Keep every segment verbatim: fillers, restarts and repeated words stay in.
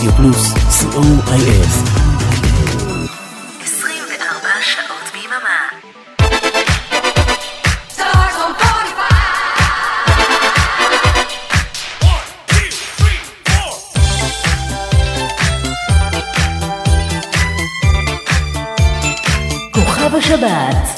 רדיו פלוס, סי או איי אס. עשרים וארבע שעות ביממה. כוכב השבת.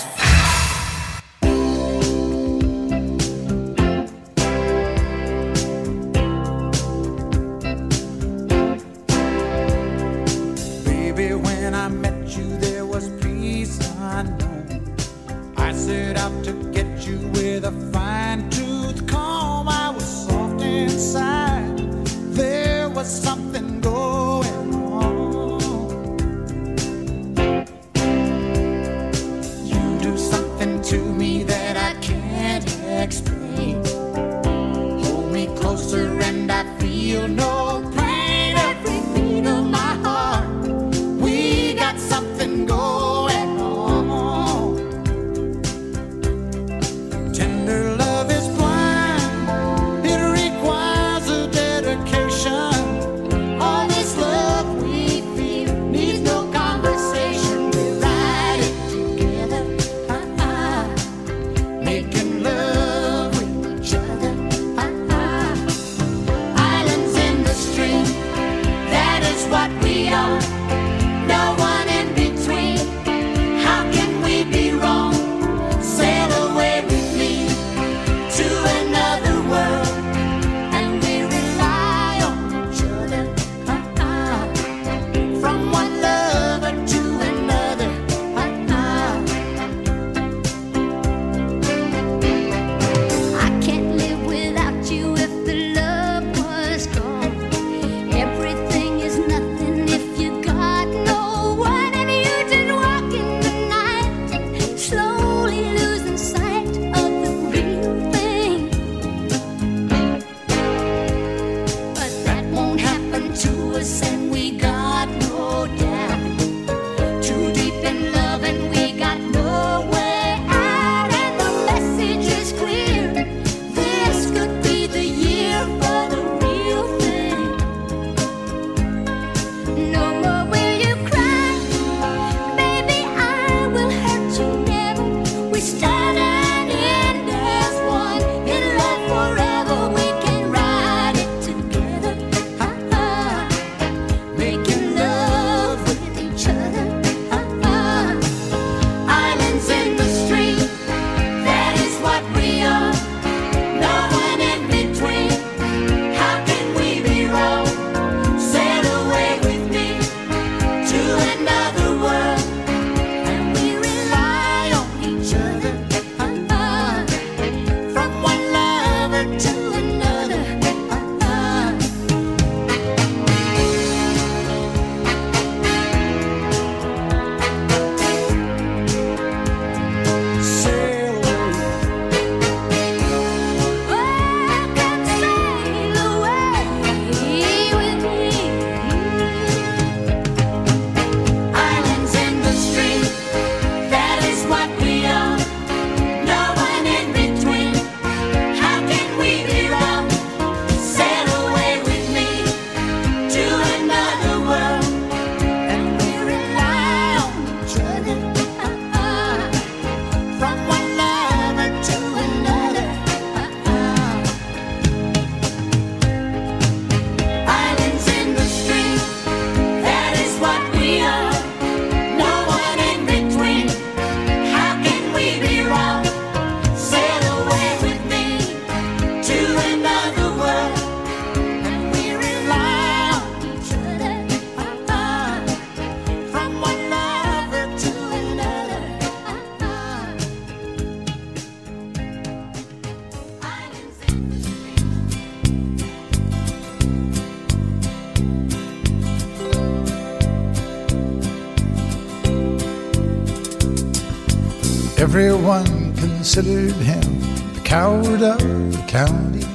Everyone considered him the coward of the county.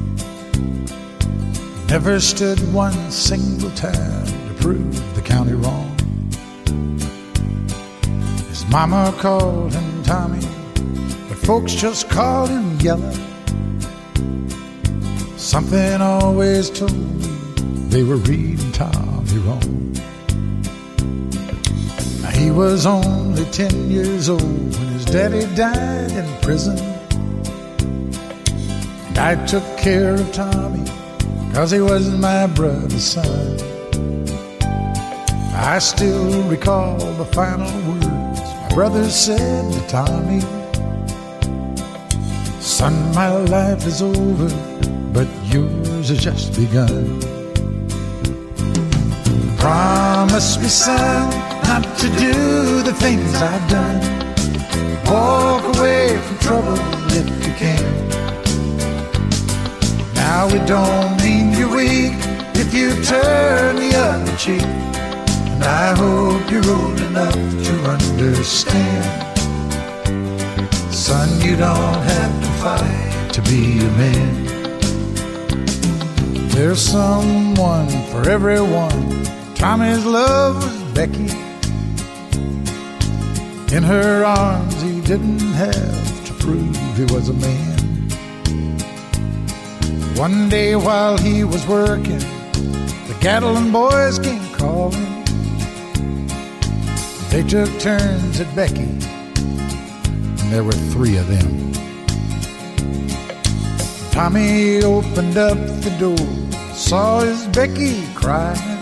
Never stood one single time to prove the county wrong. His mama called him Tommy, but folks just called him Yellow. Something always told me they were reading Tom me wrong. Now, he was only ten years old when his daddy died in prison. And I took care of Tommy, 'cause he was my brother's son. I still recall the final words my brother said to Tommy. Son, my life is over, but yours has just begun. Promise me, son, not to do the things I've done. Walk away from trouble if you can. Now it don't mean you're weak if you turn the other cheek. And I hope you're old enough to understand. Son, you don't have to fight to be a man. There's someone for everyone. Tommy's love was Becky. In her arms he didn't have to prove he was a man. One day while he was working, the Gatlin boys came calling. They took turns at Becky, and there were three of them. Tommy opened up the door, saw his Becky crying.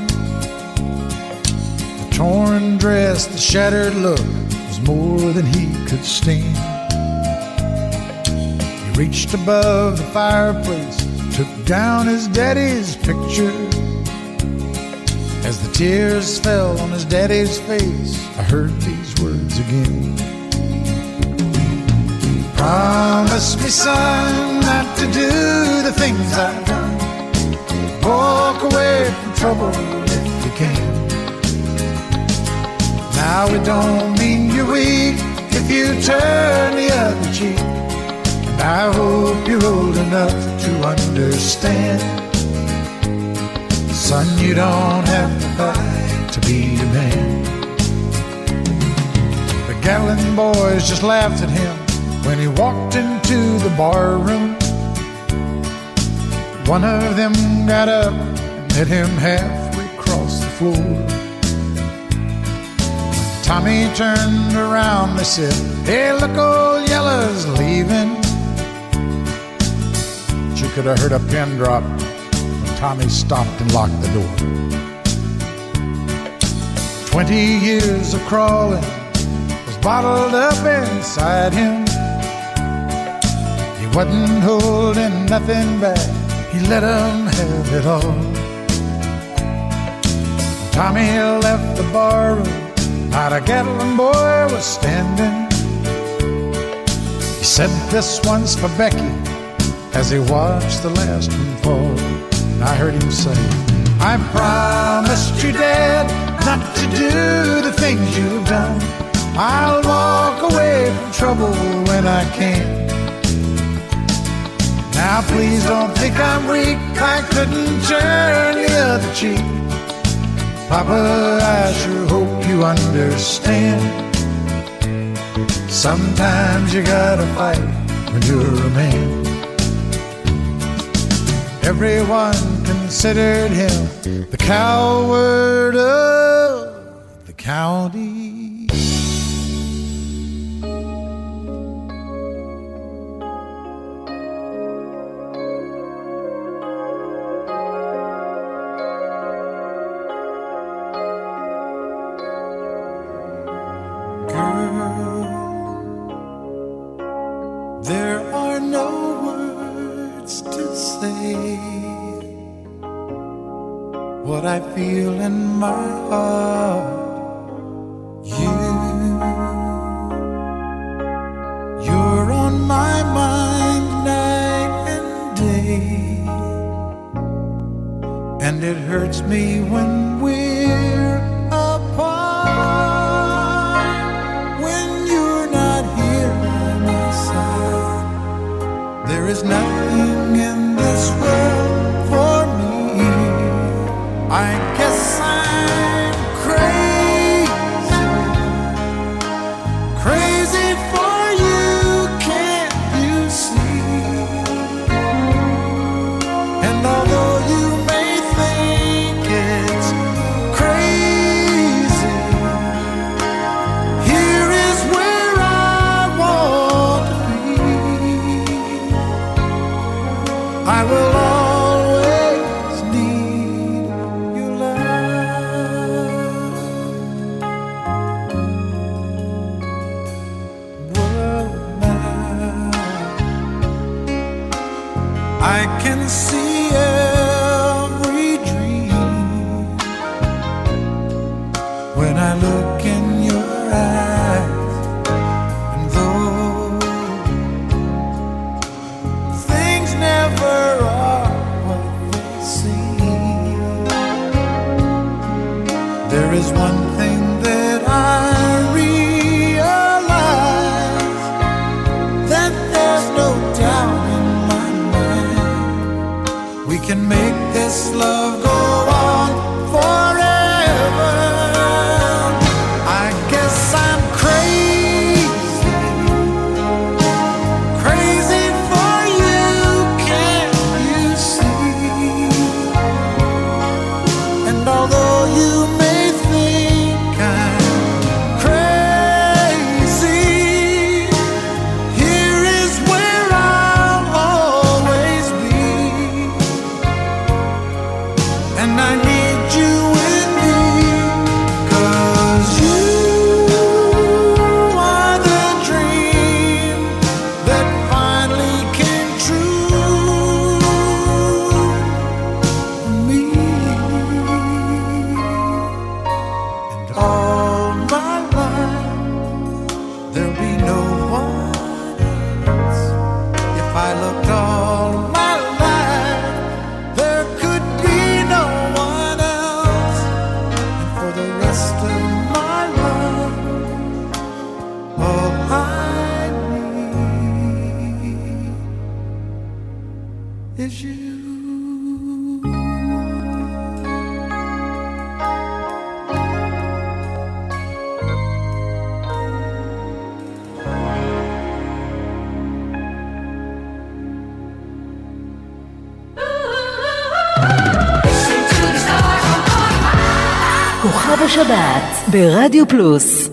The torn dress, the shattered look was more than he could stand. He reached above the fireplace, took down his daddy's picture. As the tears fell on his daddy's face, I heard these words again. Promise me, son, not to do the things I've done. Walk away from trouble if you can. Now it don't mean you're weak if you turn the other cheek. And I hope you're old enough to understand. Son, you don't have to fight to be a man. The Gatlin boys just laughed at him when he walked into the bar room. One of them got up and met him halfway across the floor. Tommy turned around, they said, "Hey, look, old Yella's leaving." But you could have heard a pin drop. Tommy stopped and locked the door. Twenty years of crawling was bottled up inside him. He wasn't holding nothing back, he let 'em have it all. Tommy left the barroom, not a Gatlin boy was standing. He said, "This one's for Becky," as he watched the last one fall. I heard him say, "I promised you, Dad, not to do the things you've done. I'll walk away from trouble when I can. Now please don't think I'm weak, I couldn't turn the other cheek. Papa, I sure hope you understand. Sometimes you gotta fight when you're a man." Everyone considered him the coward of the county. Girl, there are no words to say what I feel in my heart. You, you're on my mind night and day, and it hurts me when we're apart. When you're not here by my side, there is nothing in this world for me. I guess I'm crazy, crazy for you, can't you see? And although you may think it's will always need your love. World map, I can see every dream when I look in your eyes. And though things never are what they seem, there is one thing that I realize, that there's no doubt in my mind we can make this love go on forever. I guess I'm crazy, crazy for you, can't you see? And although you may think I'm crazy, here is where I'll always be. And I need you with me, 'cause you are the dream that finally came true for me. And all my life there'll be no one else. If I looked all my life, there could be no one else. And for the rest of my life, all I need is you. כוכב השבת ברדיו פלוס.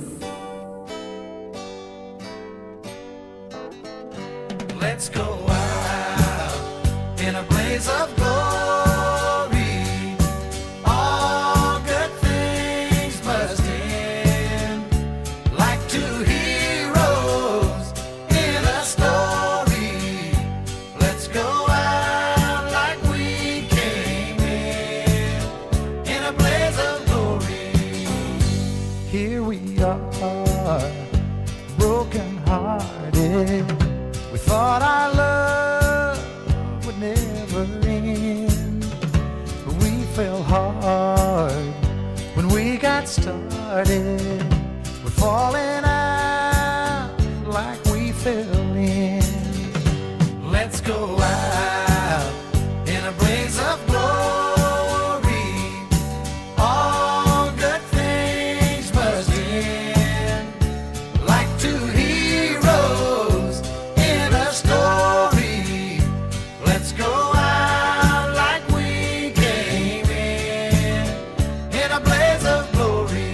Let's go out in a blaze of glory. All good things must end, like two heroes in a story. Let's go out like we came in, in a blaze of glory. Here we are, broken hearted. We thought our love would never end, but we fell hard when we got started. We're falling out like we fell in. Let's go out in a blaze of glory. All good things must end, like two heroes in a story. Let's go out like we came in, in a blaze of glory.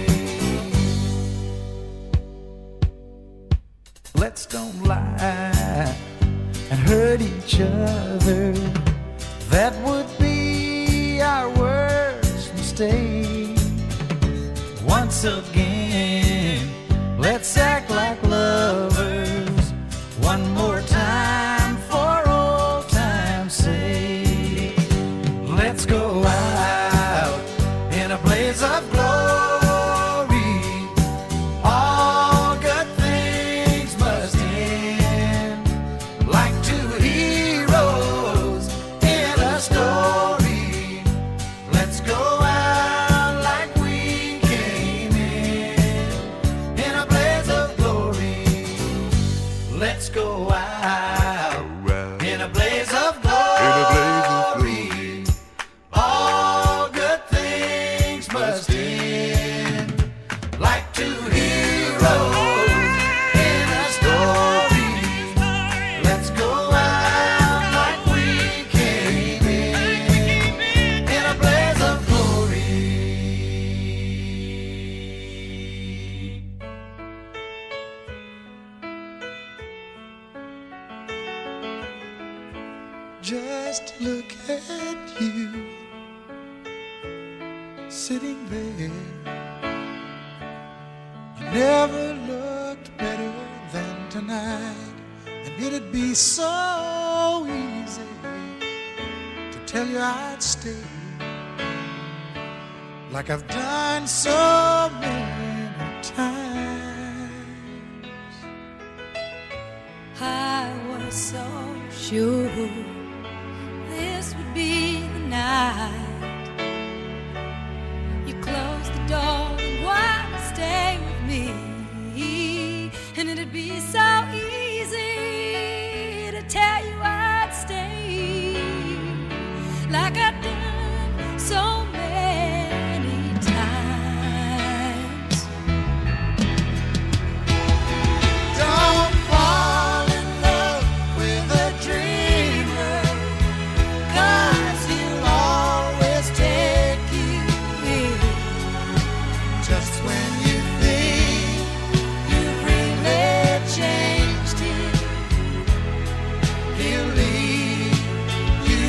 Let's don't lie and hurt each other. That would be our worst mistake. Once again, let's act like lovers one more time for old time's sake. Let's go out in a blaze of glory. All good things must end, like two heroes in a story. Let's go out like we came in, Just look at you sitting there. You never looked better than tonight, and it'd be so easy to tell you I'd stay, like I've done so many times. I was so sure this would be the night. You closed the door and wanted to stay with me, and it'd be so easy to tell you I'd stay, like I've done so many times. Don't fall in love with a dreamer, 'cause he'll always take you in just when you think you've really changed him. He'll leave you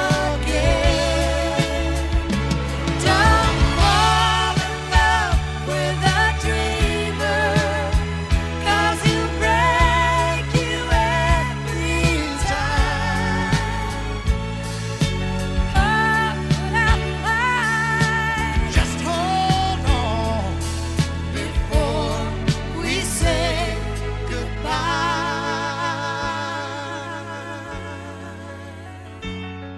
again. Don't fall in love with a dreamer, 'cause he'll break you every time. Oh, but I'm alive. Just hold on before we say goodbye.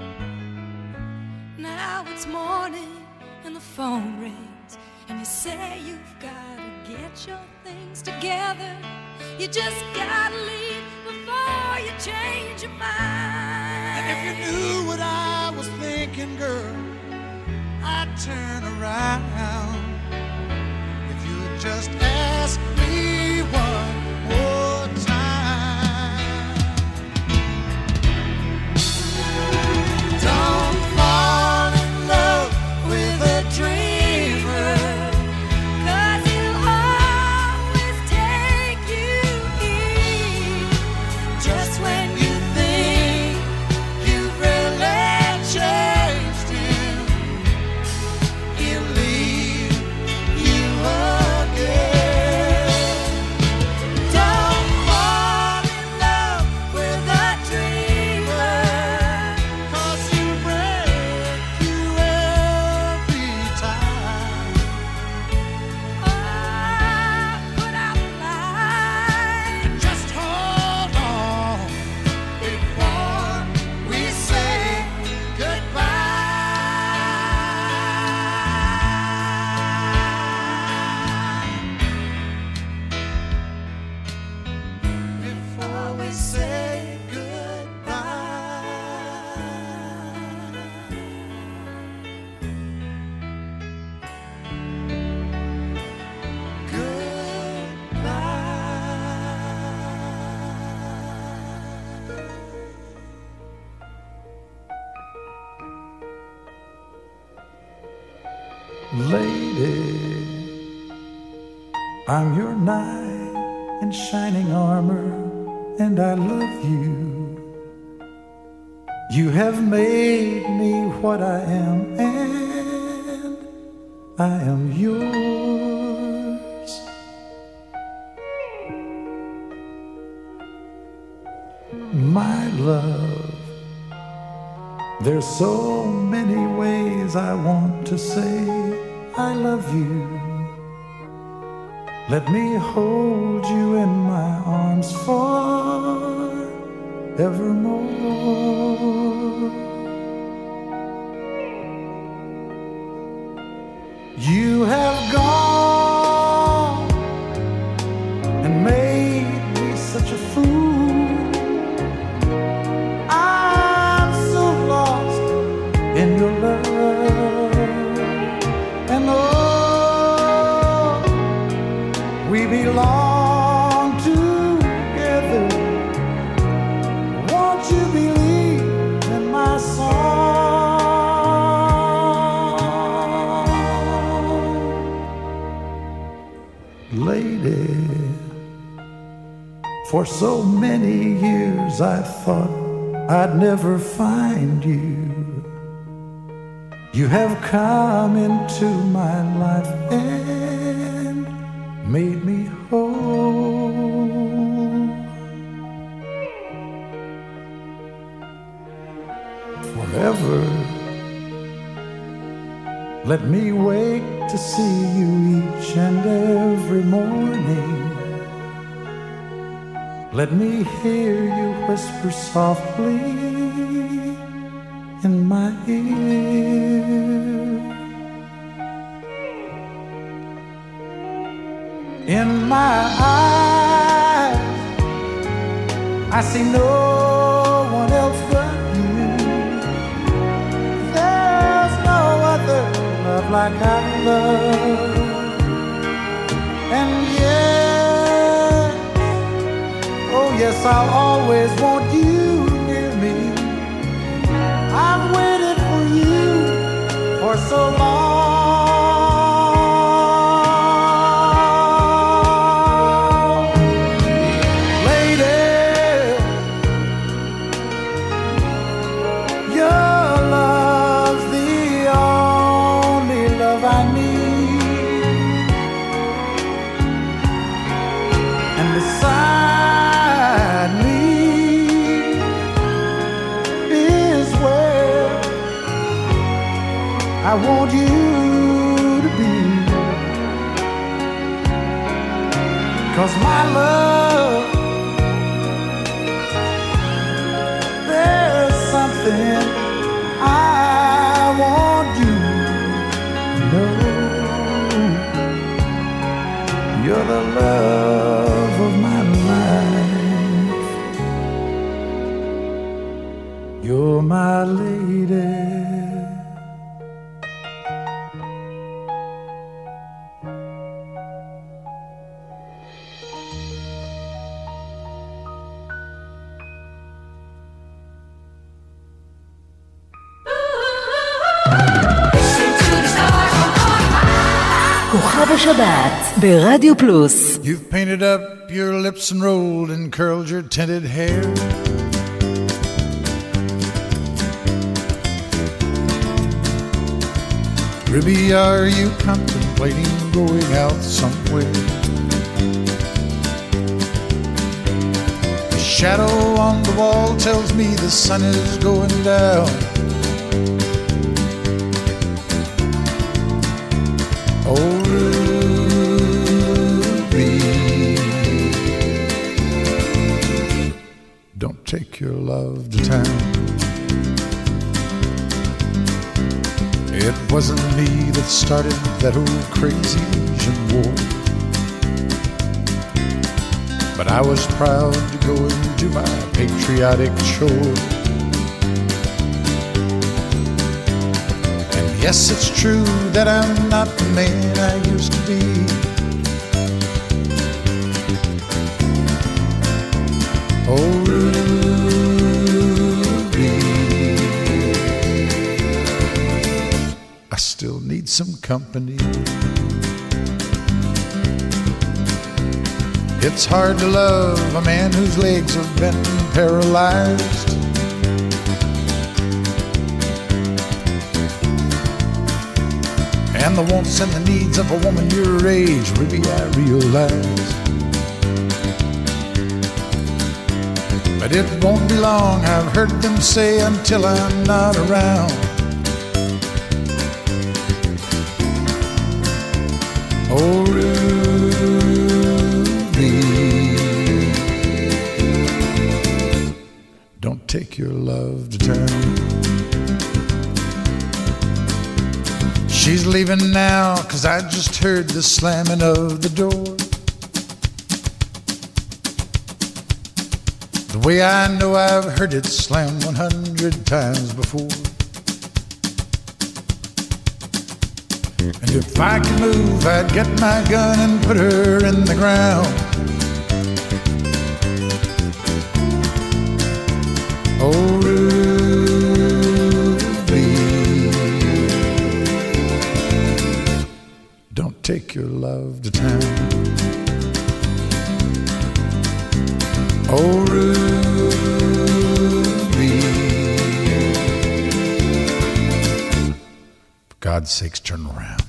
Now it's morning and the phone rings, and you say you've gotta get your things together. You just gotta leave before you change your mind. And if you knew what I was thinking, girl, I'd turn around. If you would just ask me one more time. Don't fall in love with a dreamer, 'Cause he'll always take you in just when you think you've really changed him. He'll leave you again. Don't fall in love with a dreamer, 'cause he'll break you every time. Oh, but I'm alive. Just hold on before we say goodbye. Before we say Lady, I'm your knight in shining armor, and I love you. You have made me what I am, and I am yours. My love, there's so many ways I want to say I love you. Let me hold you in my arms forevermore. You have gone and made me such a fool. I'm so lost in your love, and oh, we belong together. Won't you believe in my song? Lady, for so many years I thought I'd never find you. You have come into my life and made me whole. Forever, let me wake to see you each and every morning. Let me hear you whisper softly in my ear. In my eyes, I see no one else but you. There's no other love like I love. And yes, oh yes, I'll always want you near me. I've waited for you for so long. Lady, your love's the only love I need. And beside me is where I want you to be. 'Cause my love, there's something I want you to know. You're the love of my life. You're my lady. כוכב השבת ברדיו פלוס. You've painted up your lips and rolled and curled your tinted hair. Ruby, are you contemplating going out somewhere? The shadow on the wall tells me the sun is going down. Oh, Ruby, don't take your love to town. It wasn't me that started that old crazy Asian war, but I was proud to go into my patriotic chore. And yes, it's true that I'm not the man I used to be. Oh, Ruby, I still need some company. It's hard to love a man whose legs have been paralyzed. And the wants and the needs of a woman your age, Ruby, I realize. But it won't be long, I've heard them say, until I'm not around. Oh, Ruby, don't take your love to town. She's leaving now, 'cause I just heard the slamming of the door. The way I know I've heard it slam one hundred times before. And if I could move, I'd get my gun and put her in the ground. Oh, Ruby, don't take your love to town. Oh, Ruby, God's sakes, turn around.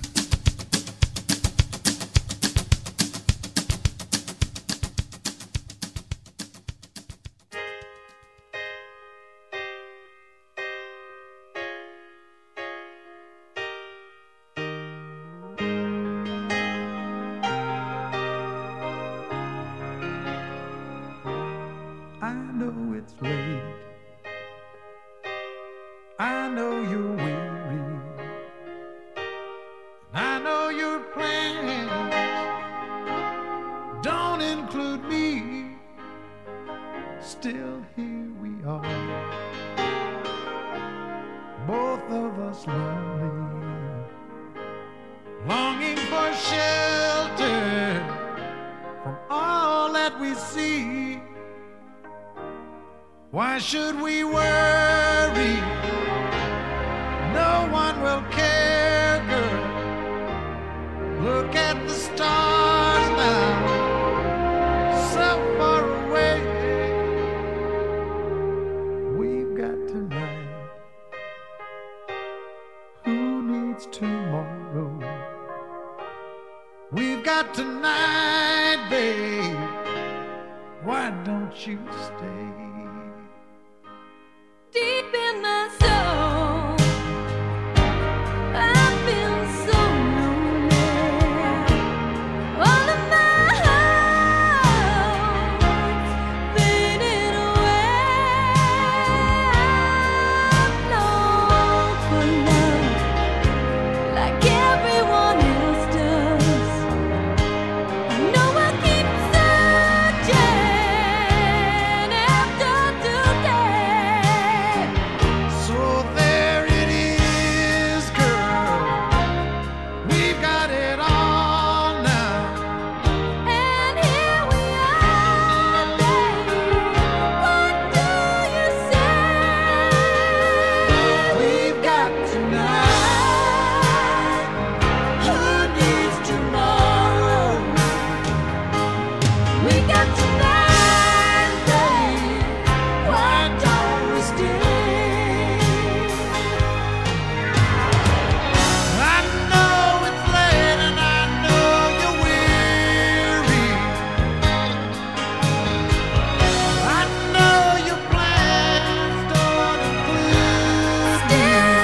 I know it's late. I know you're weary. I know your plans don't include me. Still here we are, both of us lonely, longing for shelter from all that we see. Why should we worry? No one will care, girl. Look at the stars now, so far away. We've got tonight. Who needs tomorrow? We've got tonight, babe. Why don't you stay? Deep in my soul, I feel so lonely. All of my hopes fading away. I long for love like everyone else does. I know I keep searching after today. So there it is, girl. We've got it all now. And here we are, baby. What do you say? We've got tonight. Who needs tomorrow? We got tonight, baby. Why don't we stay? I know it's late and I know you're weary. I know your plans don't include me.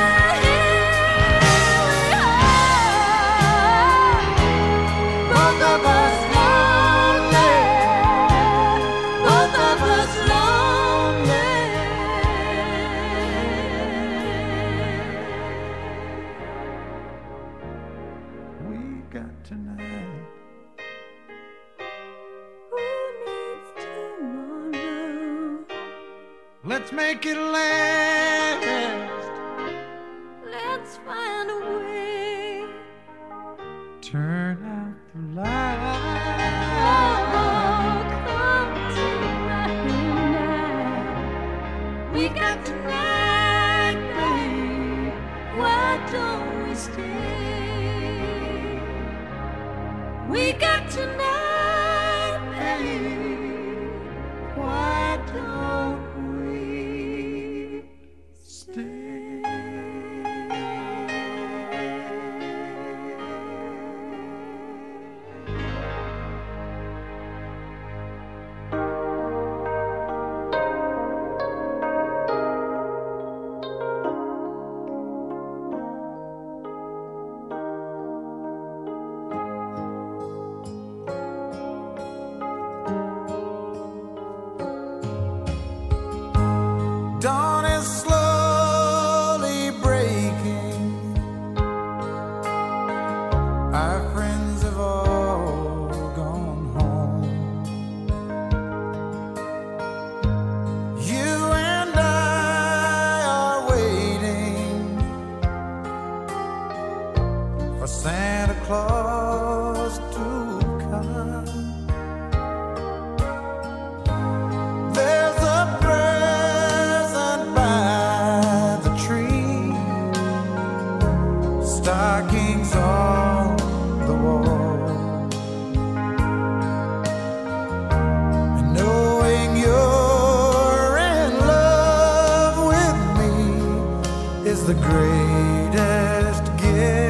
Both of us lonely. Both of us lonely. We've got tonight. Who needs tomorrow? Let's make it last. Let's find a way. Turn out the light. Oh, come tonight. We got tonight, babe. Why don't we stay? We got tonight, babe. Why don't we stay? Dawn is slowly breaking. Our friends have all gone home. You and I are waiting for Santa Claus to come. There's a present by the tree, stockings on the wall, and knowing you're in love with me is the greatest gift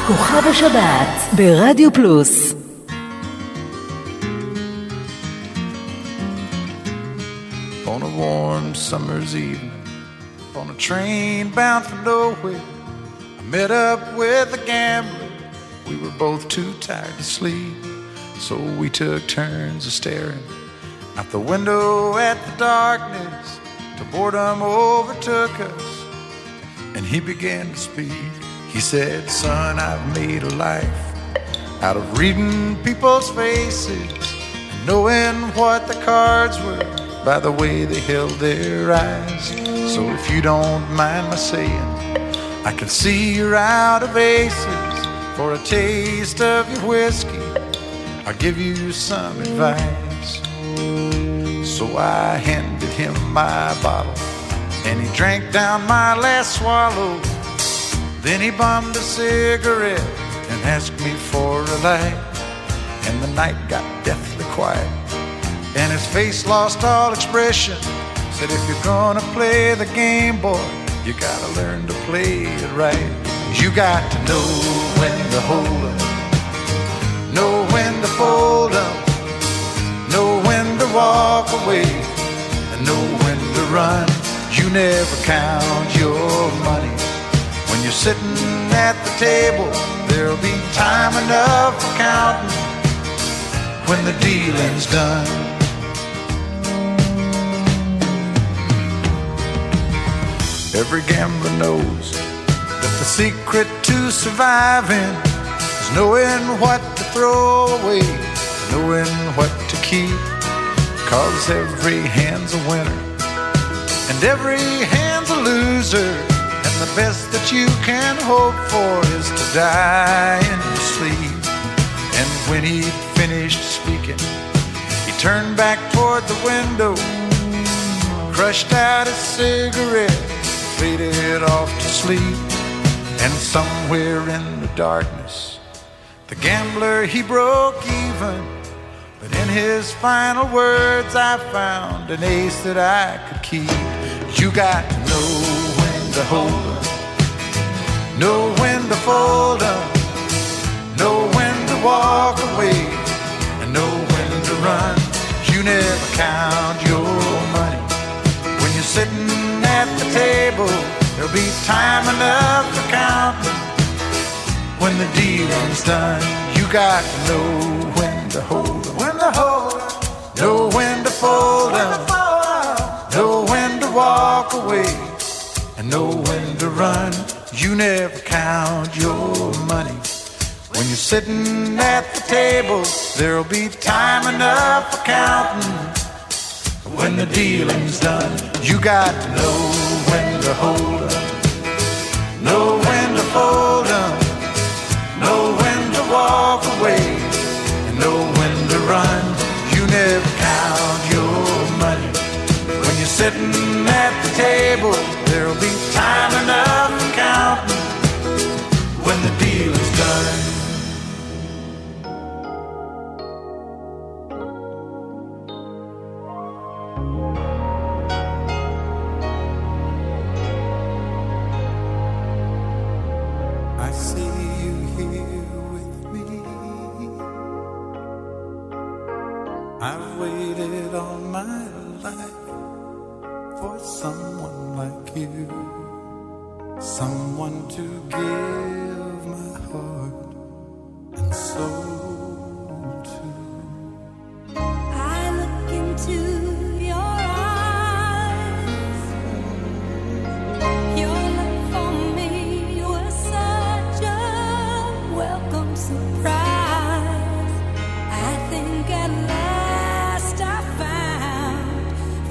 כוכב השבת ברדיו פלוס. On a warm summer's evening, on a train bound for nowhere, I met up with a gambler. We were both too tired to sleep, so we took turns of staring out the window at the darkness till boredom overtook us, and he began to speak. He said, son, I've made a life out of reading people's faces and knowing what the cards were by the way they held their eyes. So if you don't mind my saying, I can see you're out of aces. For a taste of your whiskey, I'll give you some advice. So I handed him my bottle, and he drank down my last swallow. Then he bummed a cigarette and asked me for a light. And the night got deathly quiet, and his face lost all expression. Said, if you're gonna play the game, boy, you gotta learn to play it right. You got to know when to hold up, know when to fold up, know when to walk away, and know when to run. You never count your money when you're sitting at the table. There'll be time enough for counting when the dealing's done. Every gambler knows that the secret to surviving is knowing what to throw away, knowing what to keep. Cause every hand's a winner and every hand's a loser, and the best that you can hope for is to die in your sleep. And when he'd finished speaking, he turned back toward the window, crushed out his cigarette, faded off to sleep. And somewhere in the darkness, the gambler, he broke even. But in his final words, I found an ace that I could keep. You got to know when to hold up, know when to fold up, know when to walk away, and know when to run. You never count your money when you're sitting at the table. There'll be time enough for counting when the dealing's done. You got to know when to hold up, when to hold up, know when to fold up, know when to walk away, and know when to run. You never count your money when you're sitting at the table. There'll be time enough for counting when the dealing's done. You got to know when to hold up, know when to fold up, know when to walk away, and know when to run. You never count your money when you're sitting at the table. There'll be time enough for counting when the deal is done. I see you here with me. I've waited all my life for someone like you, someone to give my heart and soul to. I look into your eyes. Your love for me was such a welcome surprise. I think at last I found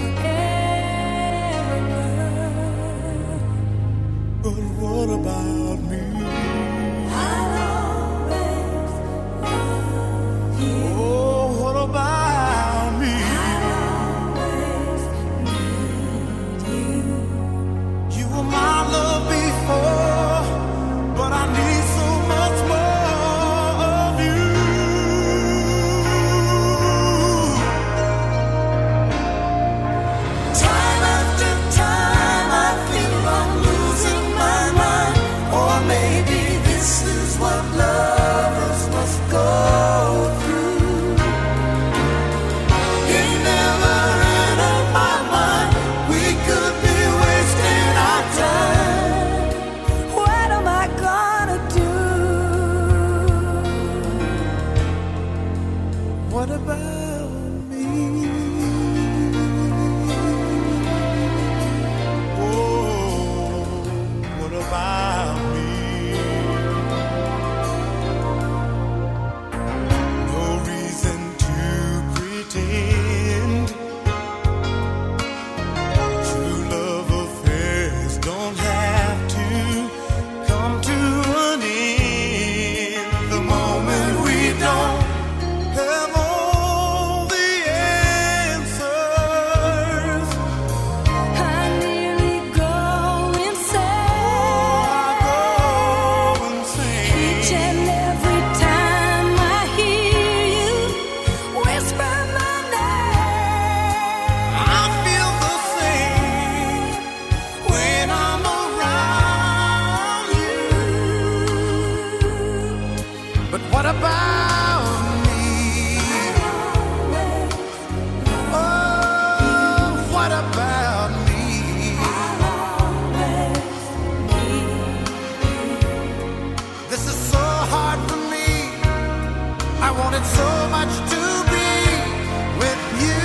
forever. But what about me? I'll always wanted so much to be with you.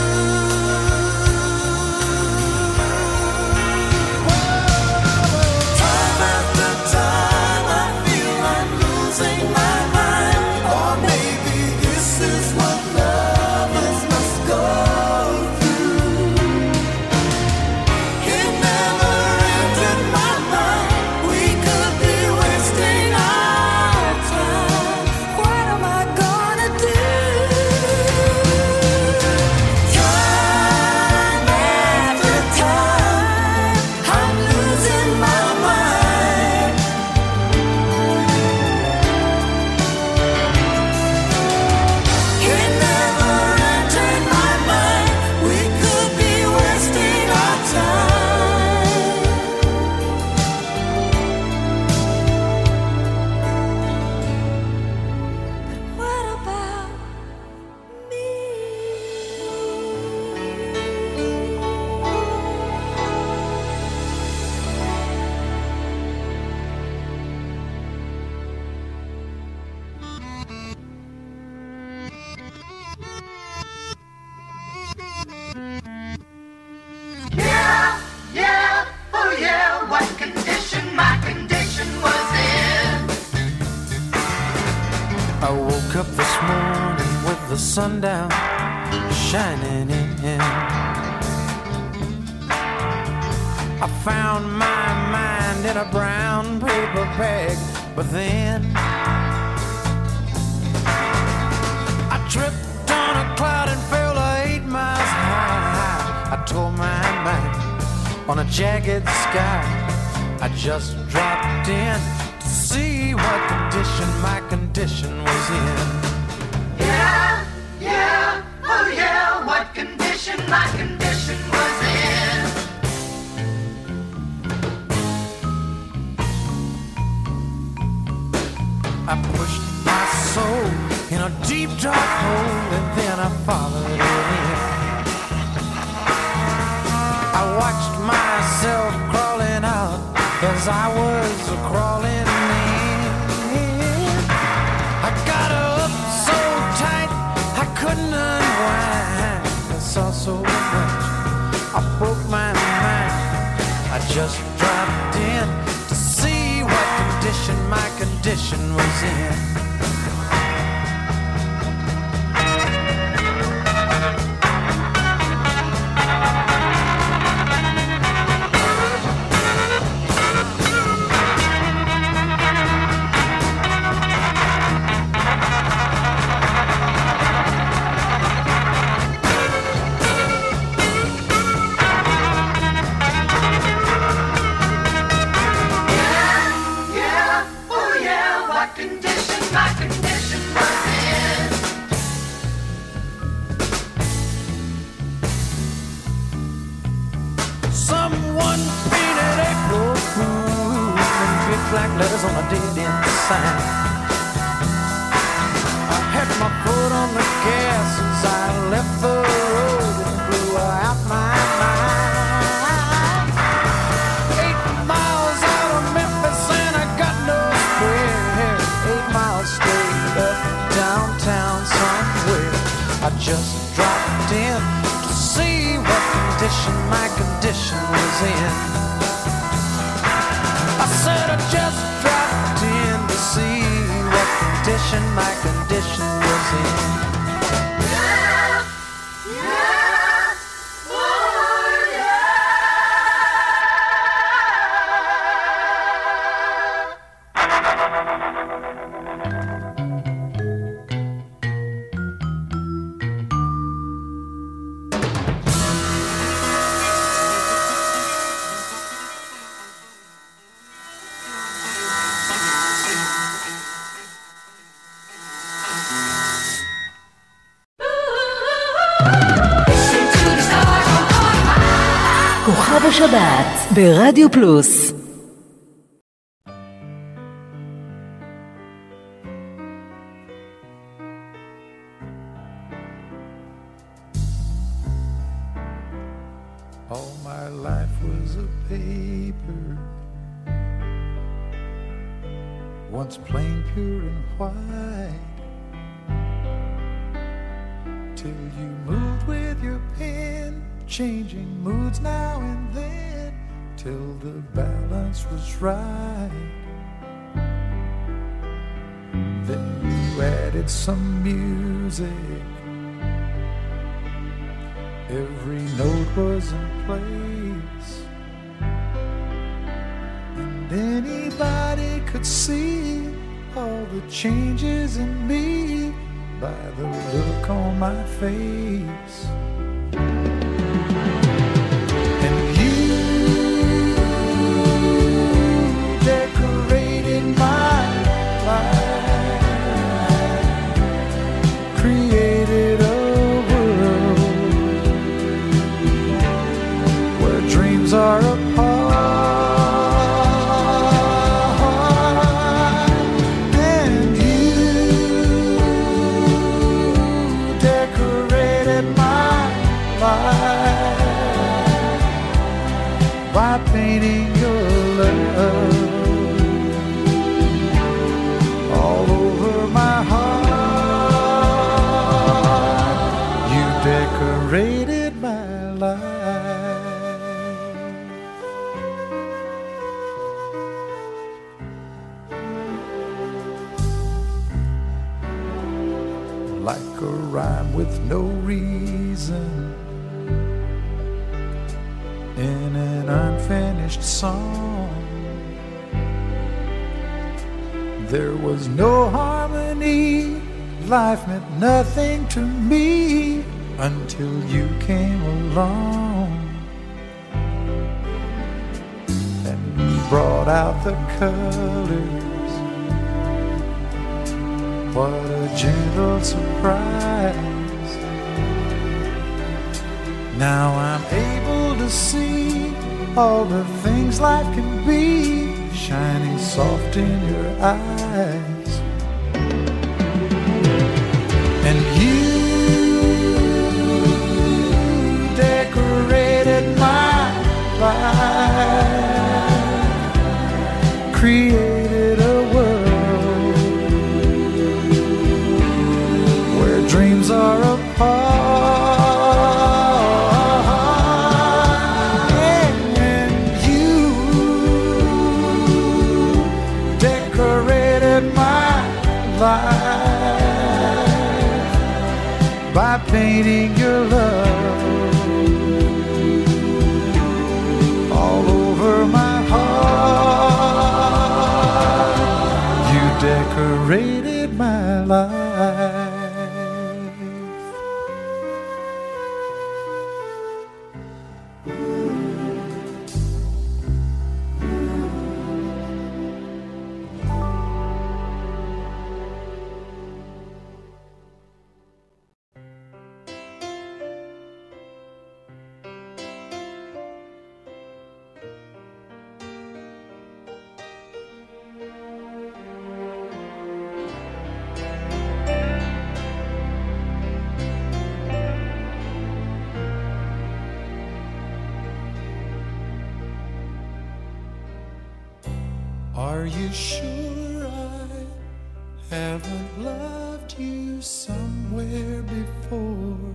Whoa. Time after time I feel I'm losing my mind. Or maybe this is what lovers must go through. It never entered my mind we could be wasting our time. What am I gonna do? Time after time I'm losing my mind. It never entered my mind we could be wasting our time. What about me? Yeah, yeah, oh yeah, what condition my condition was in. I woke up this morning with the sun down shining in. I found my mind in a brown paper bag, but then I tripped on a cloud and fell eight miles high. I tore my mind on a jagged sky. I just dropped in to see what condition my condition was in. Yeah, yeah, oh yeah, what condition my condition was in. I pushed my soul in a deep dark hole and then I followed it in. I watched myself crawling out as I was crawling in. I got up so tight I couldn't unwind. I saw so much, I broke my mind. I just dropped in to see what condition my condition was in. Yeah, oh yeah, what condition my condition was in. Someone painted April Fool in big black letters on a dead-end sign. I had my foot on the gas as I left the road and blew out my mind. Eight miles out of Memphis and I got no spare. Eight miles straight up downtown somewhere. I just dropped in to see what condition my condition was in. I said I just dropped in to see what condition my condition was in. Yeah, yeah, oh yeah. כוכב השבת ברדיו פלוס. All my life was a paper, once plain, pure and white. till you moved with your pen, changing moods now and then till the balance was right. Then you added some music, every note was in place, and anybody could see all the changes in me by the look on my face. And you decorated my life, created a world where dreams are apart. By painting your love all over my heart, you decorated my life. Like a rhyme with no reason in an unfinished song, there was no harmony, life meant nothing to me until you came along and brought out the colors. What a gentle surprise. Now I'm able to see all the things life can be, shining soft in your eyes. And you decorated my life, created a world where dreams are apart. By painting your love all over my heart, you decorated my life. Are you sure I haven't loved you somewhere before?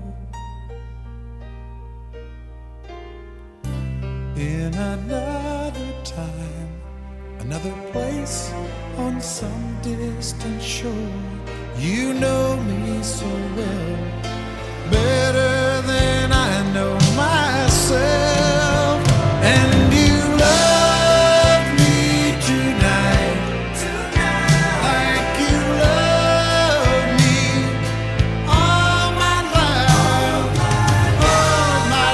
In another time, another place, on some distant shore. You know me so well, better than I know myself. And you love me tonight, like you love me all my life, all my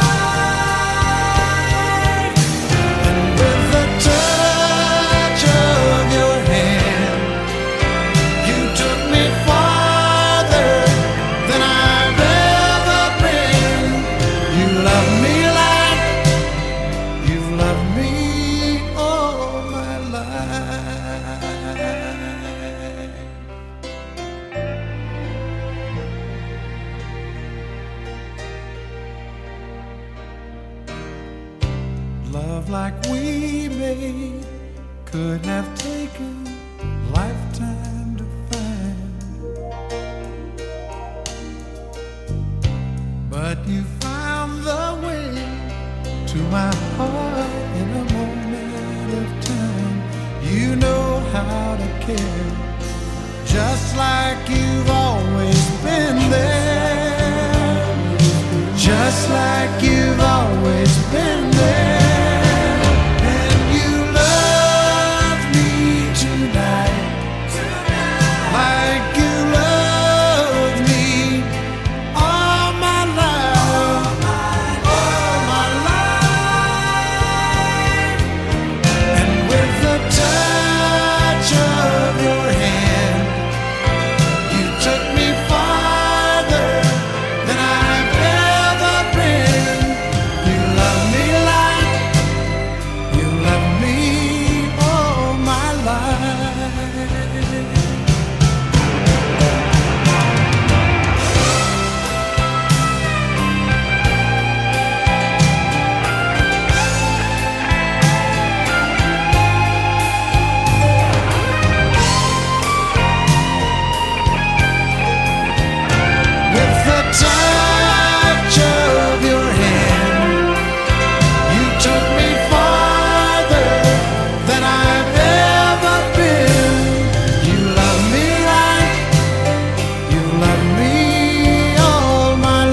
life. And with the touch of your hand, you took me farther than I've ever been. You love me like you've loved me all my life. Love like we made couldn't have taken a lifetime to find. care, just like you've always been there, just like you've always been there. And you love me tonight, like you love me all my life, all my life. And with the touch of your hand, you took me farther than I've ever been. You love me like you love me all my life. With the touch of your hand, you took me farther than I've ever been. You love me like you love me all my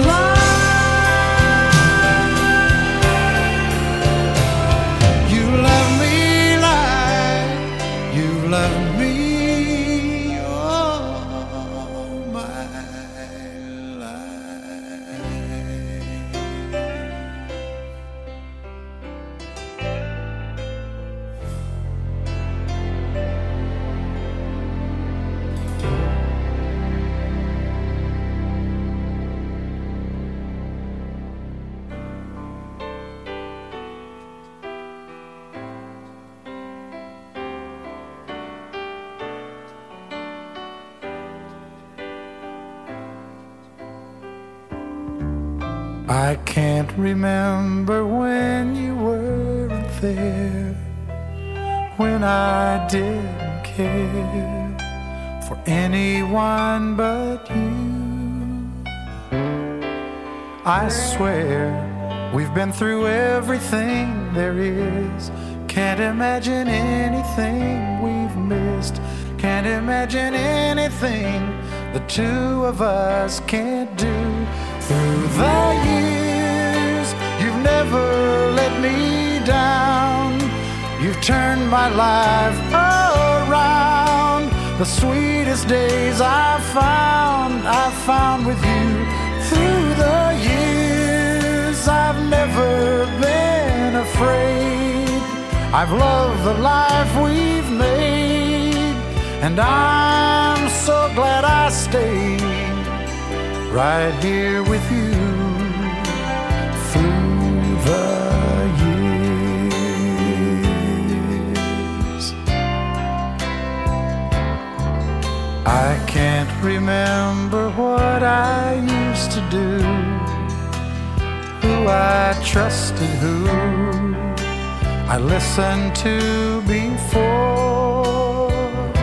life. You love me like you love me all my life. I can't remember when you weren't there, when I didn't care for anyone but you. I swear we've been through everything there is. Can't imagine anything we've missed. Can't imagine anything the two of us can't do. Through the years, you've never let me down. You've turned my life around. The sweetest days I've found, I've found with you. Through the years, I've never been afraid. I've loved the life we've made, and I'm so glad I stayed right here with you through the years. I can't remember what I used to do, who I trusted, who I listened to before.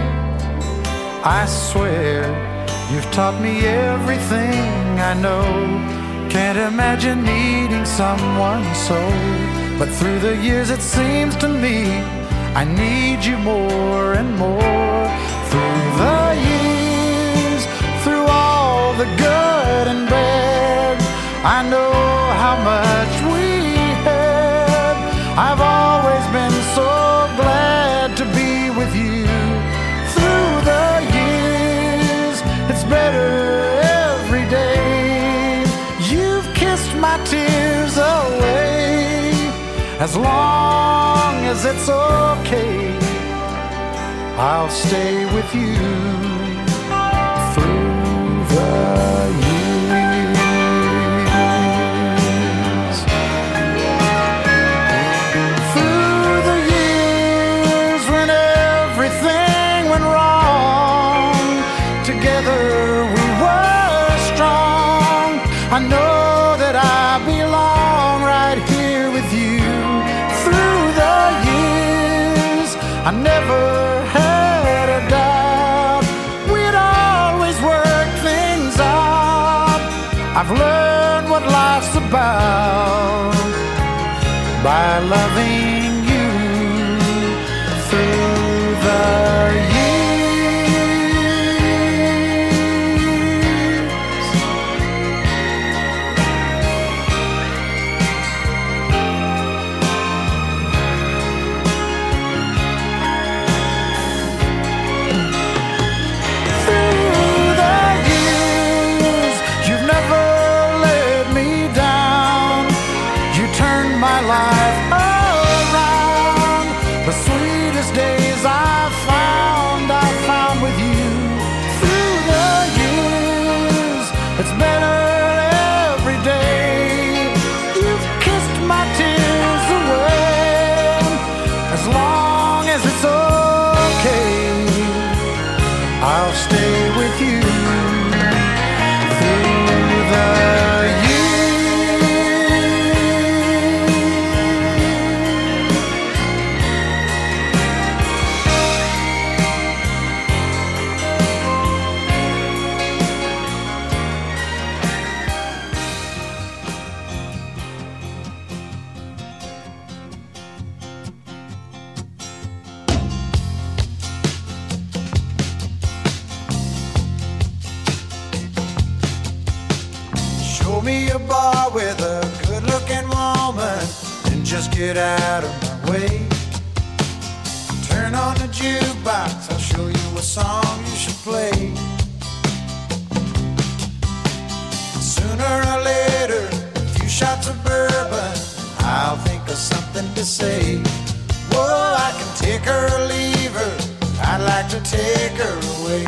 I swear you've taught me everything I know. Can't imagine needing someone so. But through the years it seems to me I need you more and more. Through the years, through all the good and bad, I know how much we had. I've always been so glad to be with you. Through the years, it's better every day. You've kissed my tears away. As long as it's okay, I'll stay with you through the years. Through the years when everything went wrong, together we were strong. I know that I belong right here with you. Through the years, I never had a doubt we'd always work things out. I've learned what life's about by loving you through the years. my life around. The sweetest days I found, I found with you. Through the years, it's better every day. You've kissed my tears away. As long as it's okay, I'll stay with you through the years. Show me a bar with a good-looking woman and just get out of my way. Turn on the jukebox, I'll show you a song you should play. Sooner or later, a few shots of bourbon, I'll think of something to say. Whoa, I can take her or leave her, I'd like to take her away.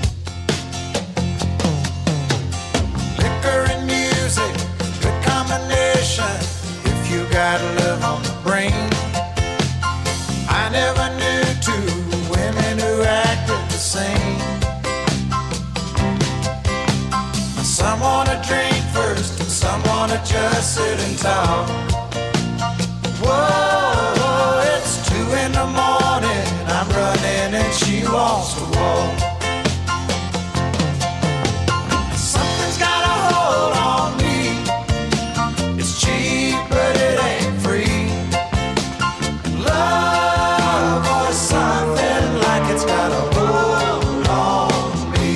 Liquor and music, good combination if you got love on the brain. I never knew two women who acted the same. Some wanna drink first and some wanna just sit and talk. Whoa, it's two in the morning, I'm running and she wants to walk. Something's got a hold on me. It's cheap, but it ain't free. Love or something like it's got a hold on me.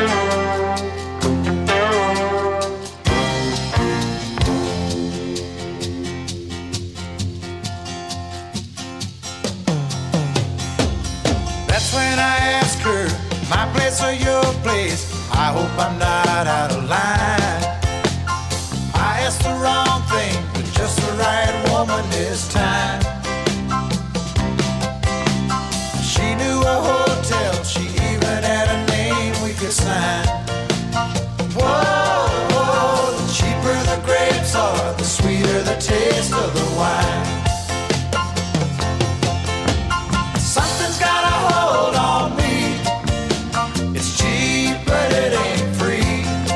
That's when I ask her, my place or your place? I hope I'm not out of line. I asked the wrong thing, but just the right woman this time. She knew a hotel, she even had a name we could sign. Whoa, whoa, the cheaper the grapes are, the sweeter the taste of the wine. Something's got a hold on me. It's cheap, but it ain't free.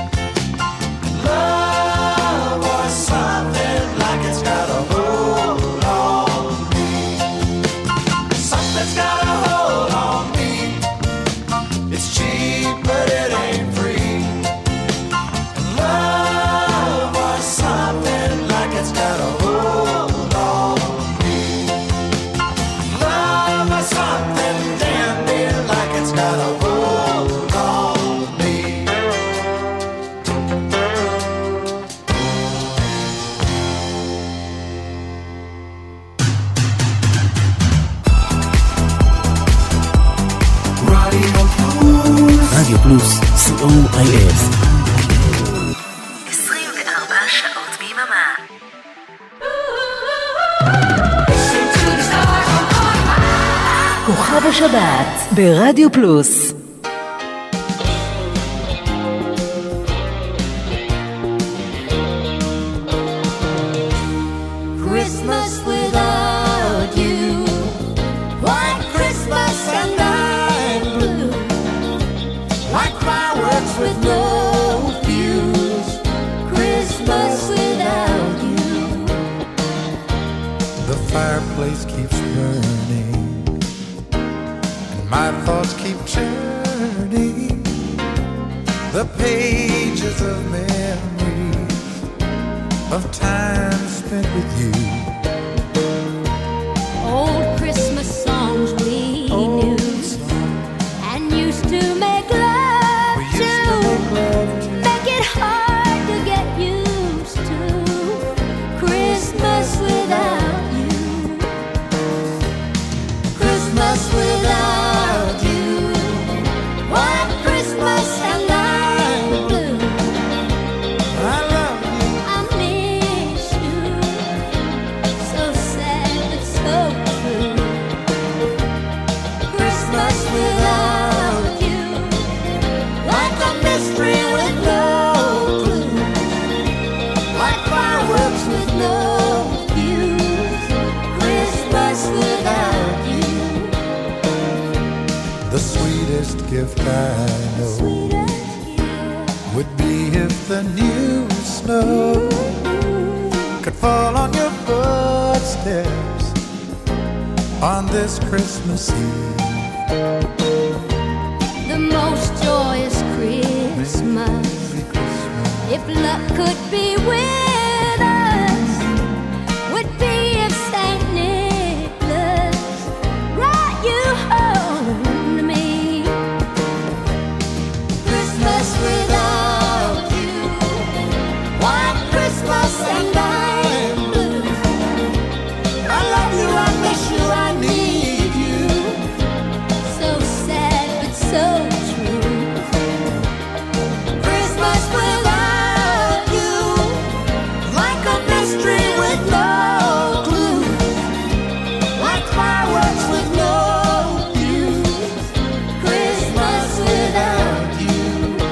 Love or something like it's got a hold on me. Something's got a hold on me. It's cheap, but it ain't free. Love or something like it's got a hold on me. Love or something damn near like it's got a hold on me. רדיו פלוס, סי או איי אס. עשרים וארבע שעות ביממה. כוכב השבת ברדיו פלוס. Christmas without you, white Christmas and I'm blue, like fireworks with no fuse. Christmas without you. The fireplace keeps burning, and my thoughts keep turning. The pages of memories of time spent with you. Old Christmas songs we knew and used to make love We to, used to make love to. make it hard to get used to. Christmas without you, Christmas without you, white Christmas and I'm blue. I love you. I miss you. gift I know would be if the new snow could fall on your footsteps on this Christmas Eve. The most joyous Christmas, if luck could be with us, would be if Saint Nicholas brought you home to me. Christmas without you, white Christmas and I'm blue. I love you, I miss you, I need you. So sad but so true. Christmas without you, like a mystery with no clue, like fireworks with no fuse. Christmas without you,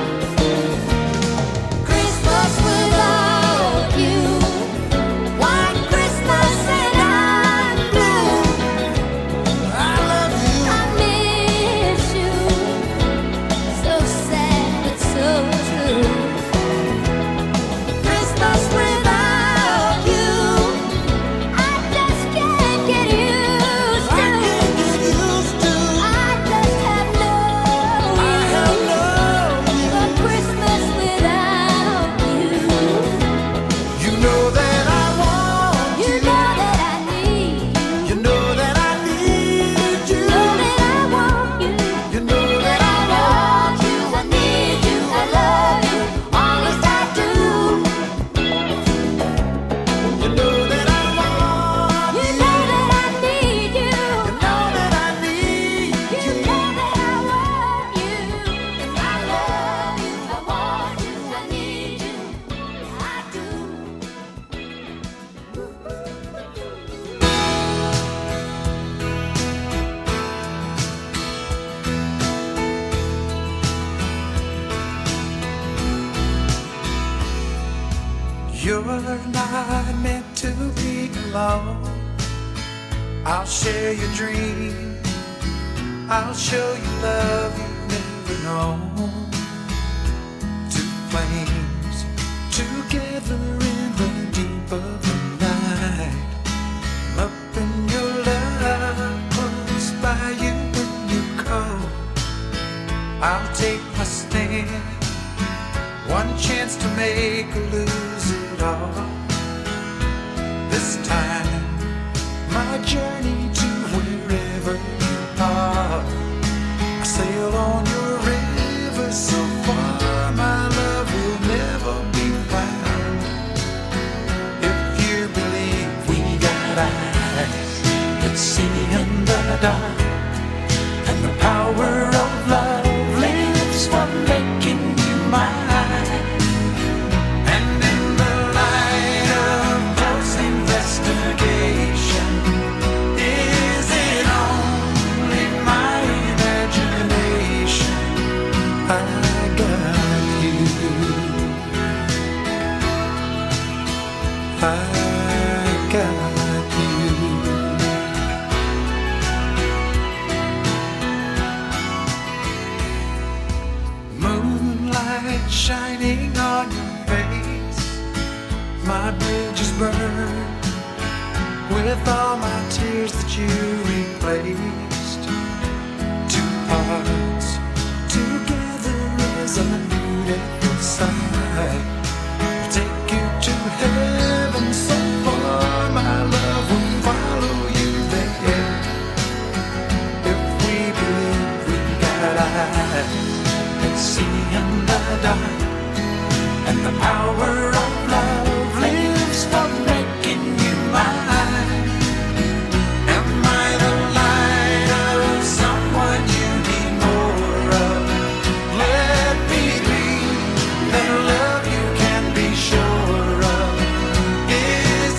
Christmas without you, white Christmas and I'm blue. I love you. I miss you, so sad but so true. Christmas without you, I just can't get used to. I can't get used to. I just have no I have use no for you. Christmas without you. You know that I want You you. know that I need you. You know that I need you. Know that I want you. You know that I want you. I need you. I love you. Honest I do. You know that I want You you. know that I need you. You know that I need You you. know that I want you. I love you. I want you. I need you. I do. You're not meant to be alone. I'll share your dream. I'll show you love you've never known. Two flames together in the deep of the night. I'm up in your love, close by you when you call. I'll take my stand. One chance to make or lose it all. This time, my journey to wherever you are. I sail on your river so far, my love will never be found. If you believe we got eyes that see in the dark, and the power of love lives for making you mine. And in the light of close investigation, is it only my imagination? I got you. I got you. Moonlight shining on your face, my bridges burned with all my tears that you replaced. Two hearts together is a beautiful sight. I'll take you to heaven so far, my love will follow you there. If we believe we got eyes and see in the dark, and the power of love lives for making you mine. Am I the light of someone you need more of? Let me be that love you can be sure of. Is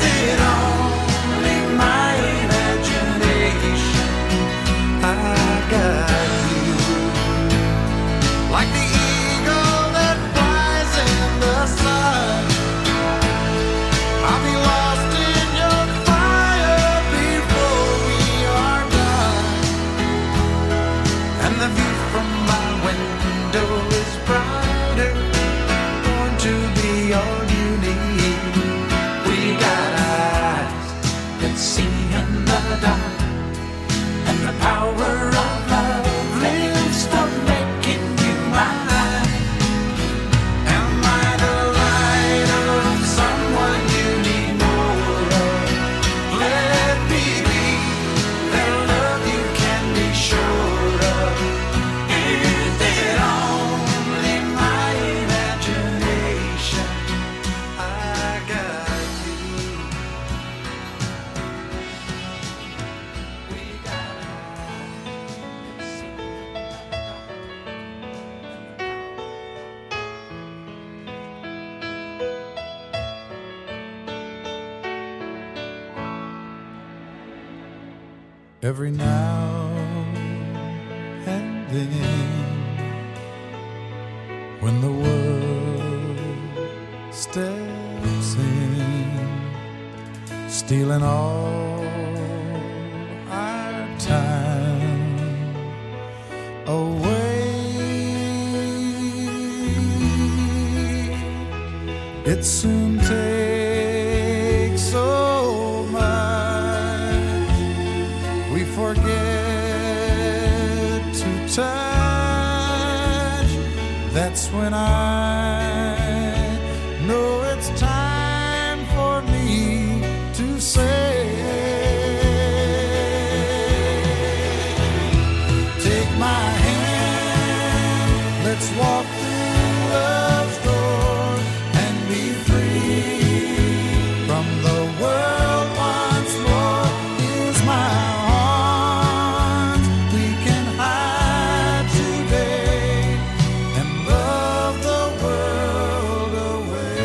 every now and then, when the world steps in, stealing all our time away. It soon takes so much we forget to touch. That's when I know it's time for me to say, take my hand, let's walk through love's door and be free from the world once more. Here's my arms, we can hide today and love the world away.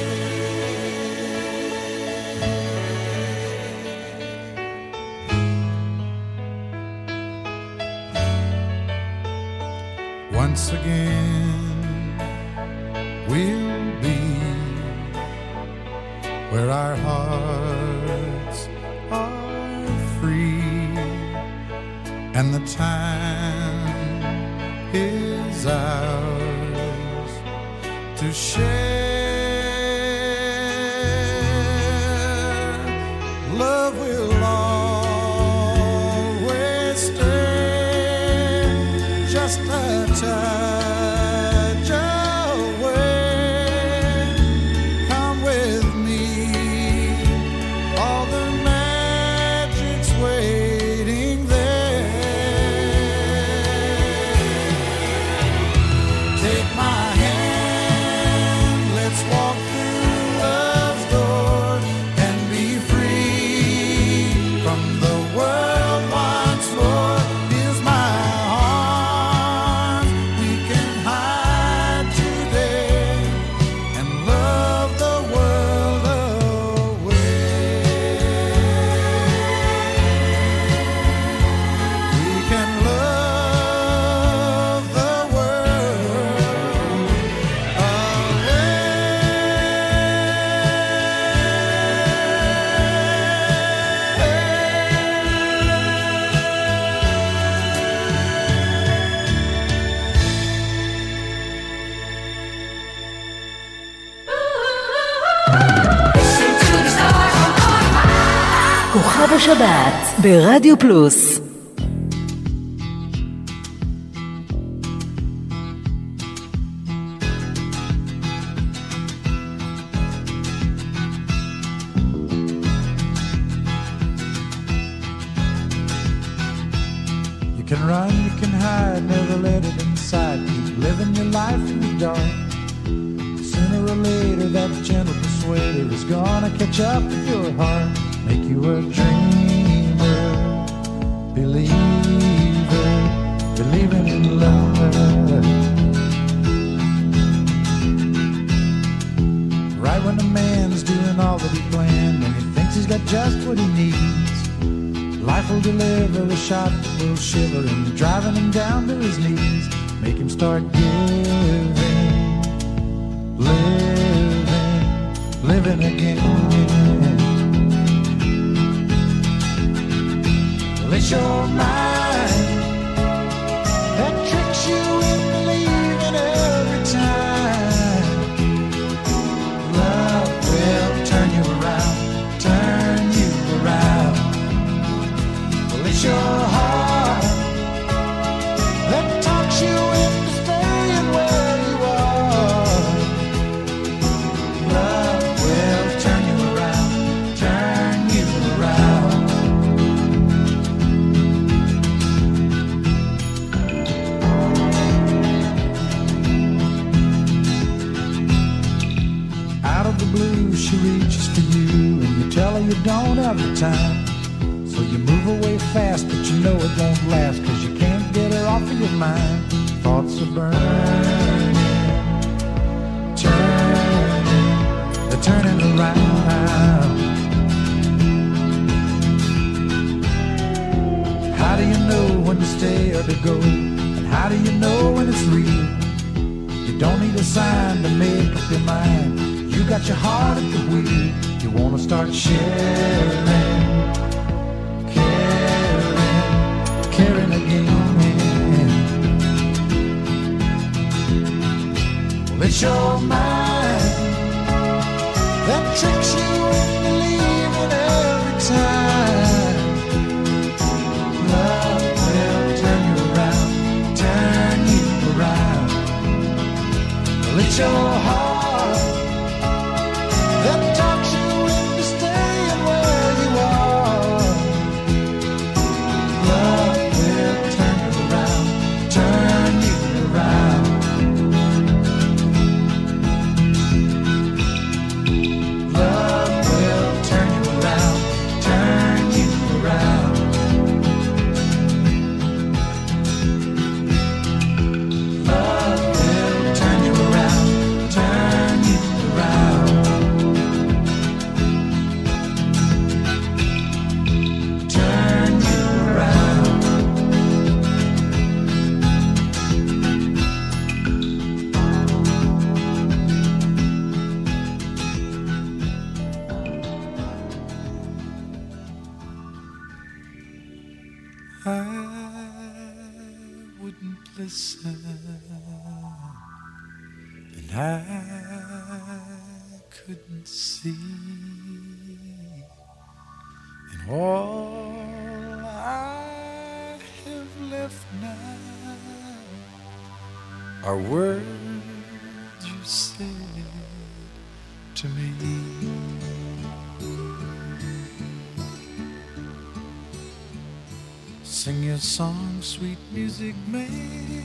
Once again we'll be where our hearts are free and the time is ours to share. Love will always stay just a touch away. Come with me, all the magic's waiting there. Take my hand, let's walk through love's door and be free from the world once more. Here's my arms, we can hide today and love the world away. We can love the world כוכב השבת ברדיו פלוס. You can run, you can hide, never let it inside. Keep living your life in the dark. Sooner or later that gentle persuader is gonna catch up with your heart. Make you a dreamer, believer, believing in love. Right when a man's doing all that he planned and he thinks he's got just what he needs, life will deliver a shot that will shiver him, driving him down to his knees. Make him start giving, living, living again. It's your mind that tricks you into believing every time. Love will turn you around, turn you around. Well, it's your heart that talks you into staying where you are. Love will turn you around, turn you around. Blue, she reaches for you and you tell her you don't have the time. So you move away fast, but you know it won't last, cause you can't get her off of your mind. Thoughts are burning, turning, they're turning around. stay or to go? And how do you know when it's real? You don't need a sign to make up your mind. You got your heart at the wheel. You wanna start sharing, caring, caring again. Well, it's your mind that tricks you into believing every time. Love will turn you around, turn you around. Well, it's your heart that talks you into staying where you are. Love will turn you around, turn you around. Love will turn you around, turn you around. Love will turn you around, turn you around. Turn you around. I wouldn't listen, and I couldn't see, and all I have left now are words you said to me. Sing your song, sweet music man.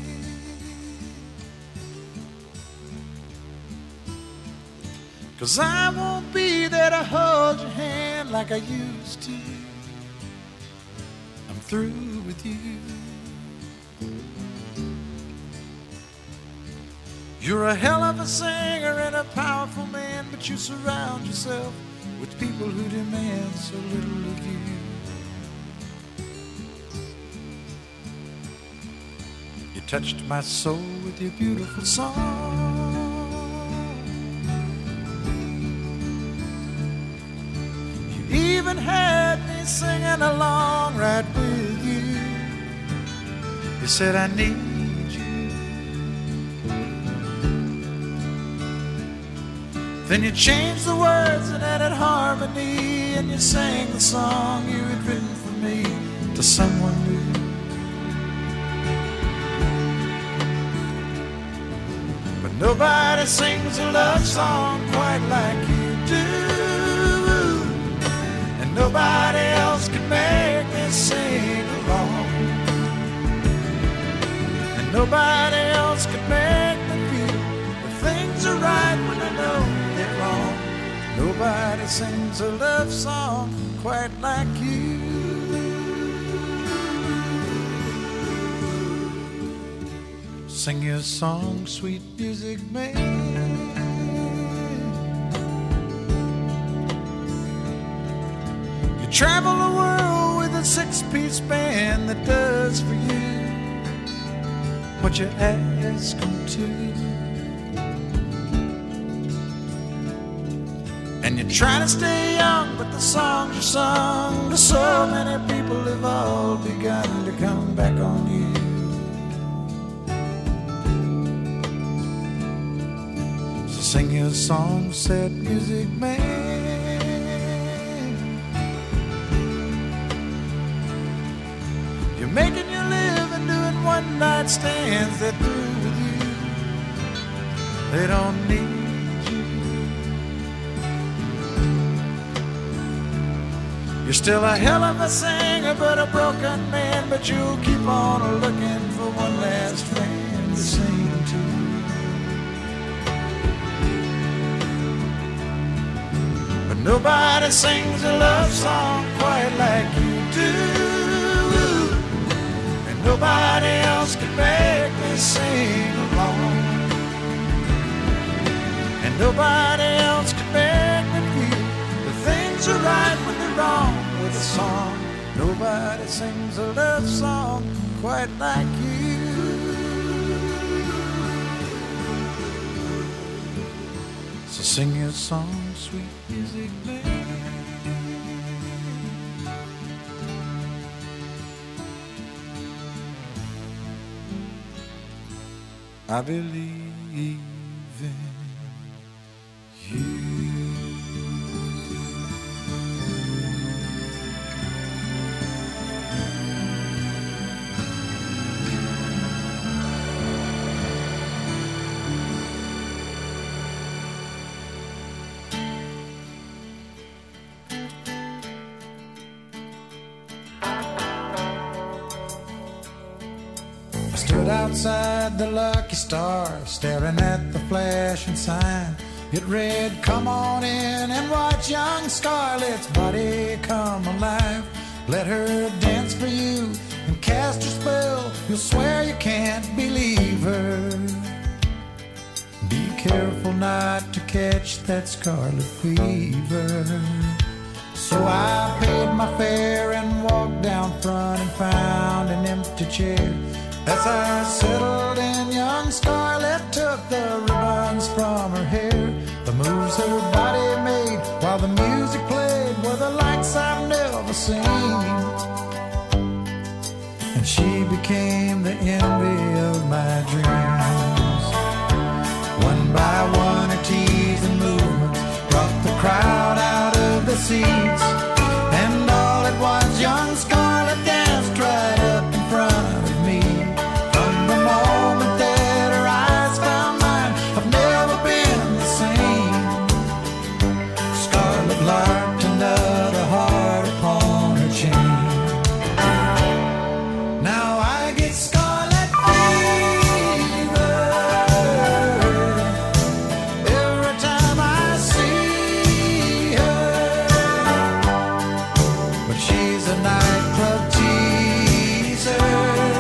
Cause I won't be there to hold your hand like I used to. I'm through with you. You're a hell of a singer and a powerful man, but you surround yourself with people who demand so little of you. You touched my soul with your beautiful song. You even had me singing along right with you. You said I need you. Then you changed the words and added harmony, and you sang the song you had written for me to someone new. Nobody sings a love song quite like you do, and nobody else can make me sing along, and nobody else can make me feel that things are right when I know they're wrong. Nobody sings a love song quite like you. Sing your song, sweet music man. You travel the world with a six-piece band that does for you what you ask them to. And you try to stay young, but the songs you sung to so many people have all begun to come back on you. Sing your song, sad music man. You're making your living doing one-night stands. They're through with you. They don't need you. You're still a hell of a singer, but a broken man. But you'll keep on looking for one last friend to sing to. Nobody sings a love song quite like you do, and nobody else can make me sing along, and nobody else can make me feel that things are right when they're wrong with a song. Nobody sings a love song quite like you. So sing your song, sweet music man. I believe in you. Outside the Lucky Star, staring at the flashing sign. It read, come on in and watch young Scarlett's body come alive. Let her dance for you and cast her spell. You'll swear you can't believe her. Be careful not to catch that scarlet fever. So I paid my fare and walked down front and found an empty chair. As I settled in, young Scarlett took the ribbons from her hair. The moves her body made while the music played were the likes I've never seen. And she became the envy of my dreams. One by one, her teasing movements brought the crowd out of the seats. And all at once, young Scarlett danced right up in front of me. The moment that her eyes found mine, I've never been the same. Scarlet larked another heart upon her chain. Now I get scarlet fever every time I see her. But she's a nightclub teaser,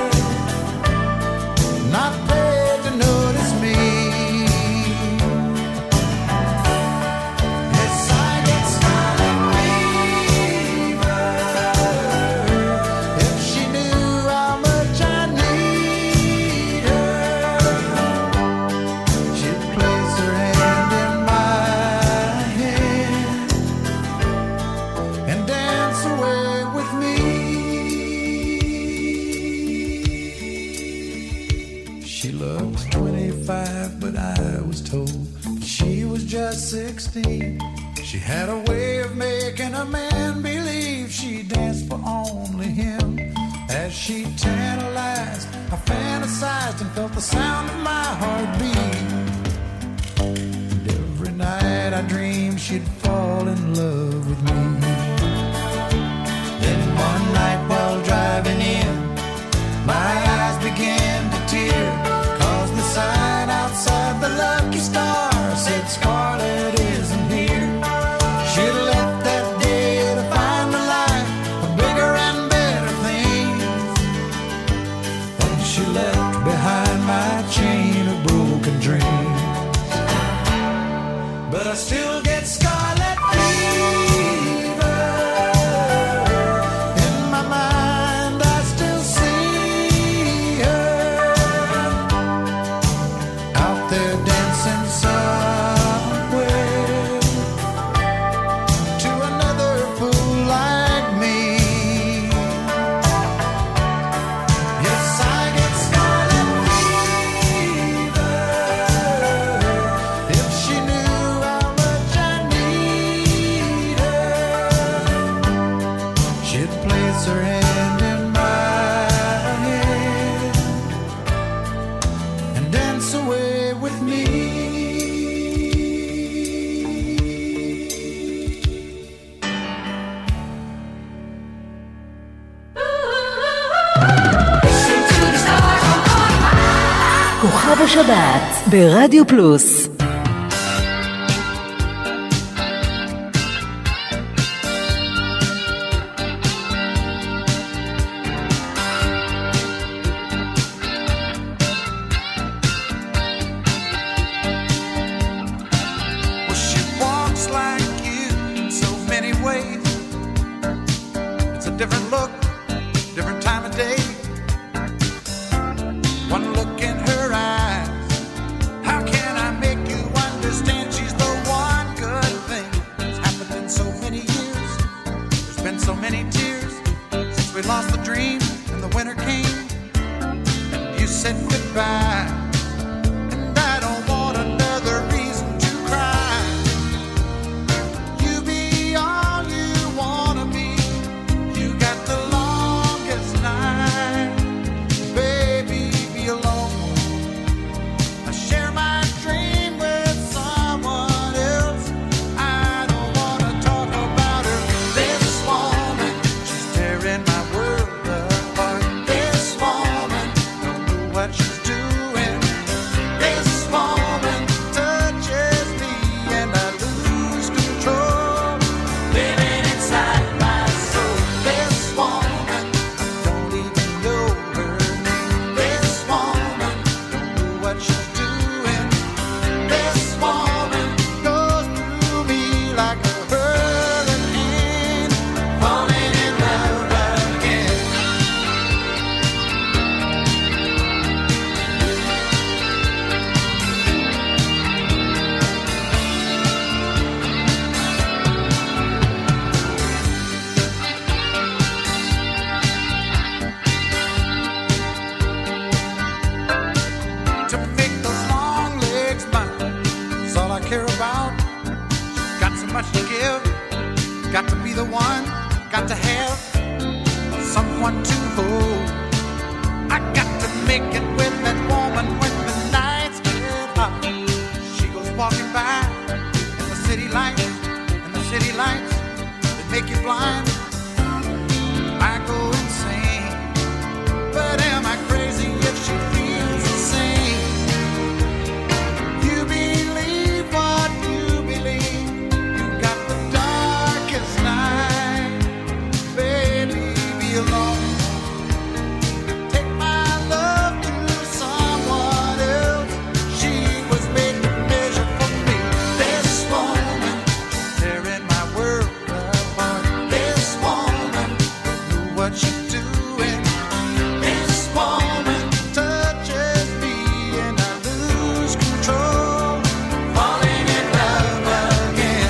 not paid to notice me. Yes, I get scarlet fever. If she knew how much I need her, she'd place her hand in my hand and dance away with me. She looks twenty-five, but I was told she was just sixteen. She had a way of making a man believe she danced for only him. As she tantalized, I fantasized and felt the sound of my heartbeat. And every night I dreamed she'd fall in love with me. Then one night while driving in, my eyes began to tear, 'cause the sign outside the Lucky Star said Scarlett isn't here. She'd left that day to find a life of bigger and better things. And she left behind my chain of broken dreams. But I still get scarlet fever. In my mind I still see her out there dancing somewhere to another fool like me. Yes, I get scarlet fever. If she knew how much I need her, she'd place her hand in my hand and dance away with me. כוכב השבת ברדיו פלוס. Well, she walks like you in so many ways. It's a different look, different time of day. been so many tears since we lost the dream and the winter came. You said goodbye, and I don't want another reason to cry. You be all you wanna be. You got the longest night, baby, be alone. I share my dream with someone else. I don't wanna talk about her. This woman, she's tearing my world apart. This woman, don't know what she's doing. This woman touches me and I lose control. Living inside my soul. This woman, I don't even know her name. This woman, don't know what she's doing. This woman goes through me like a hurricane, falling in love again. To make those long legs mine is all I care about. Got so much to give, got to be the one, got to have someone to hold. I got to make it with that woman when the nights get hot. She goes walking by in the city lights, and the city lights that make you blind. I go insane, but am I crazy if she feels the same? You believe what you believe. You got the darkest night, baby, be alone. Take my love to someone else. She was made to measure for me. This woman tearing my world apart. This woman knew what she's doing. This woman touches me and I lose control, falling in love again.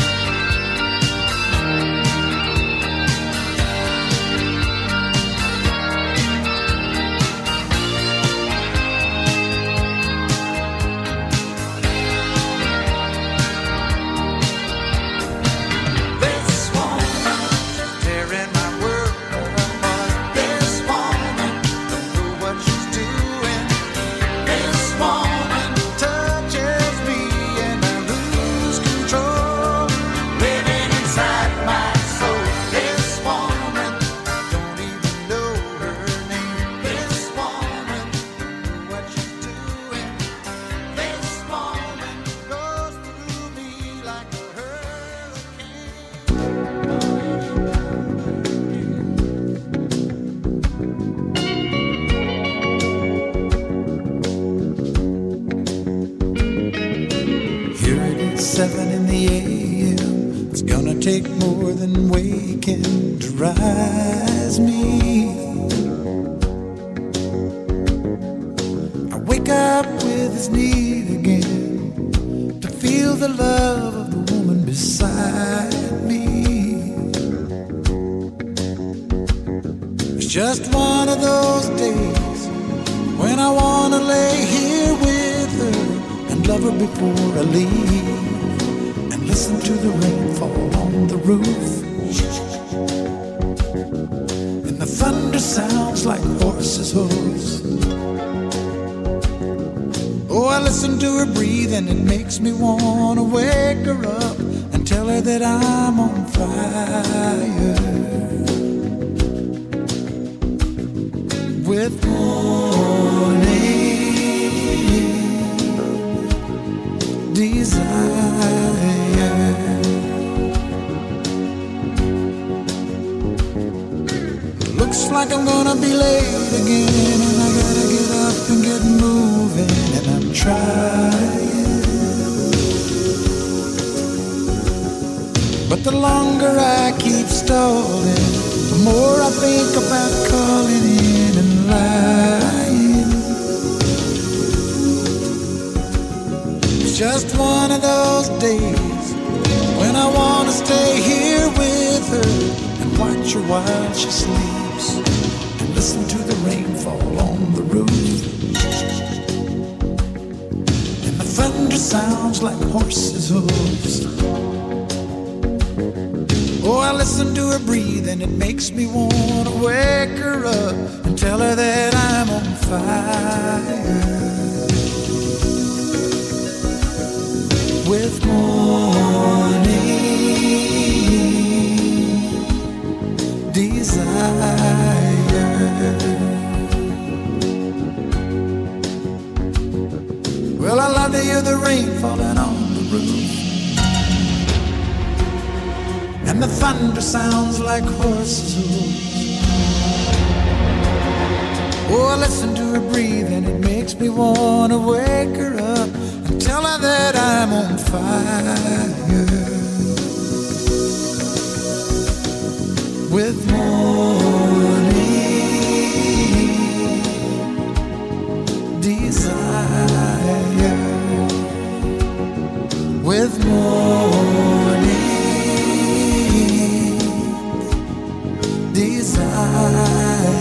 This woman tearing my world apart. This woman don't know what she's doing. This woman touches me and I lose control, living inside my soul. This woman don't even know her name. This woman don't know what she's doing. This woman goes through me like a hurricane. Here it is, seven in the a m. It's gonna take more than waking to rise me. I wake up with this need again to feel the love of the woman beside me. It's just one of those days when I wanna lay here with her and love her before I leave, and listen to the rain fall on the roof, and the thunder sounds like horses' hooves. Oh, I listen to her breathe and it makes me wanna wake her up and tell her that I'm on fire with morning desire. Looks like I'm gonna be late again, and I gotta get up and get moving, and I'm trying. But the longer I keep stalling, the more I think about calling in and lying. It's just one of those days when I wanna stay here with her and while she sleeps and listen to the rainfall on the roof. And the thunder sounds like horses' hooves. Oh, I listen to her breathe and it makes me want to wake her up and tell her that I'm on fire. With morning desire. Well, I love to hear the rain falling on the roof, and the thunder sounds like horses' hooves. Oh, I listen to her breathe and it makes me want to wake her up and tell her that I'm on fire. With morning desire. With morning desire.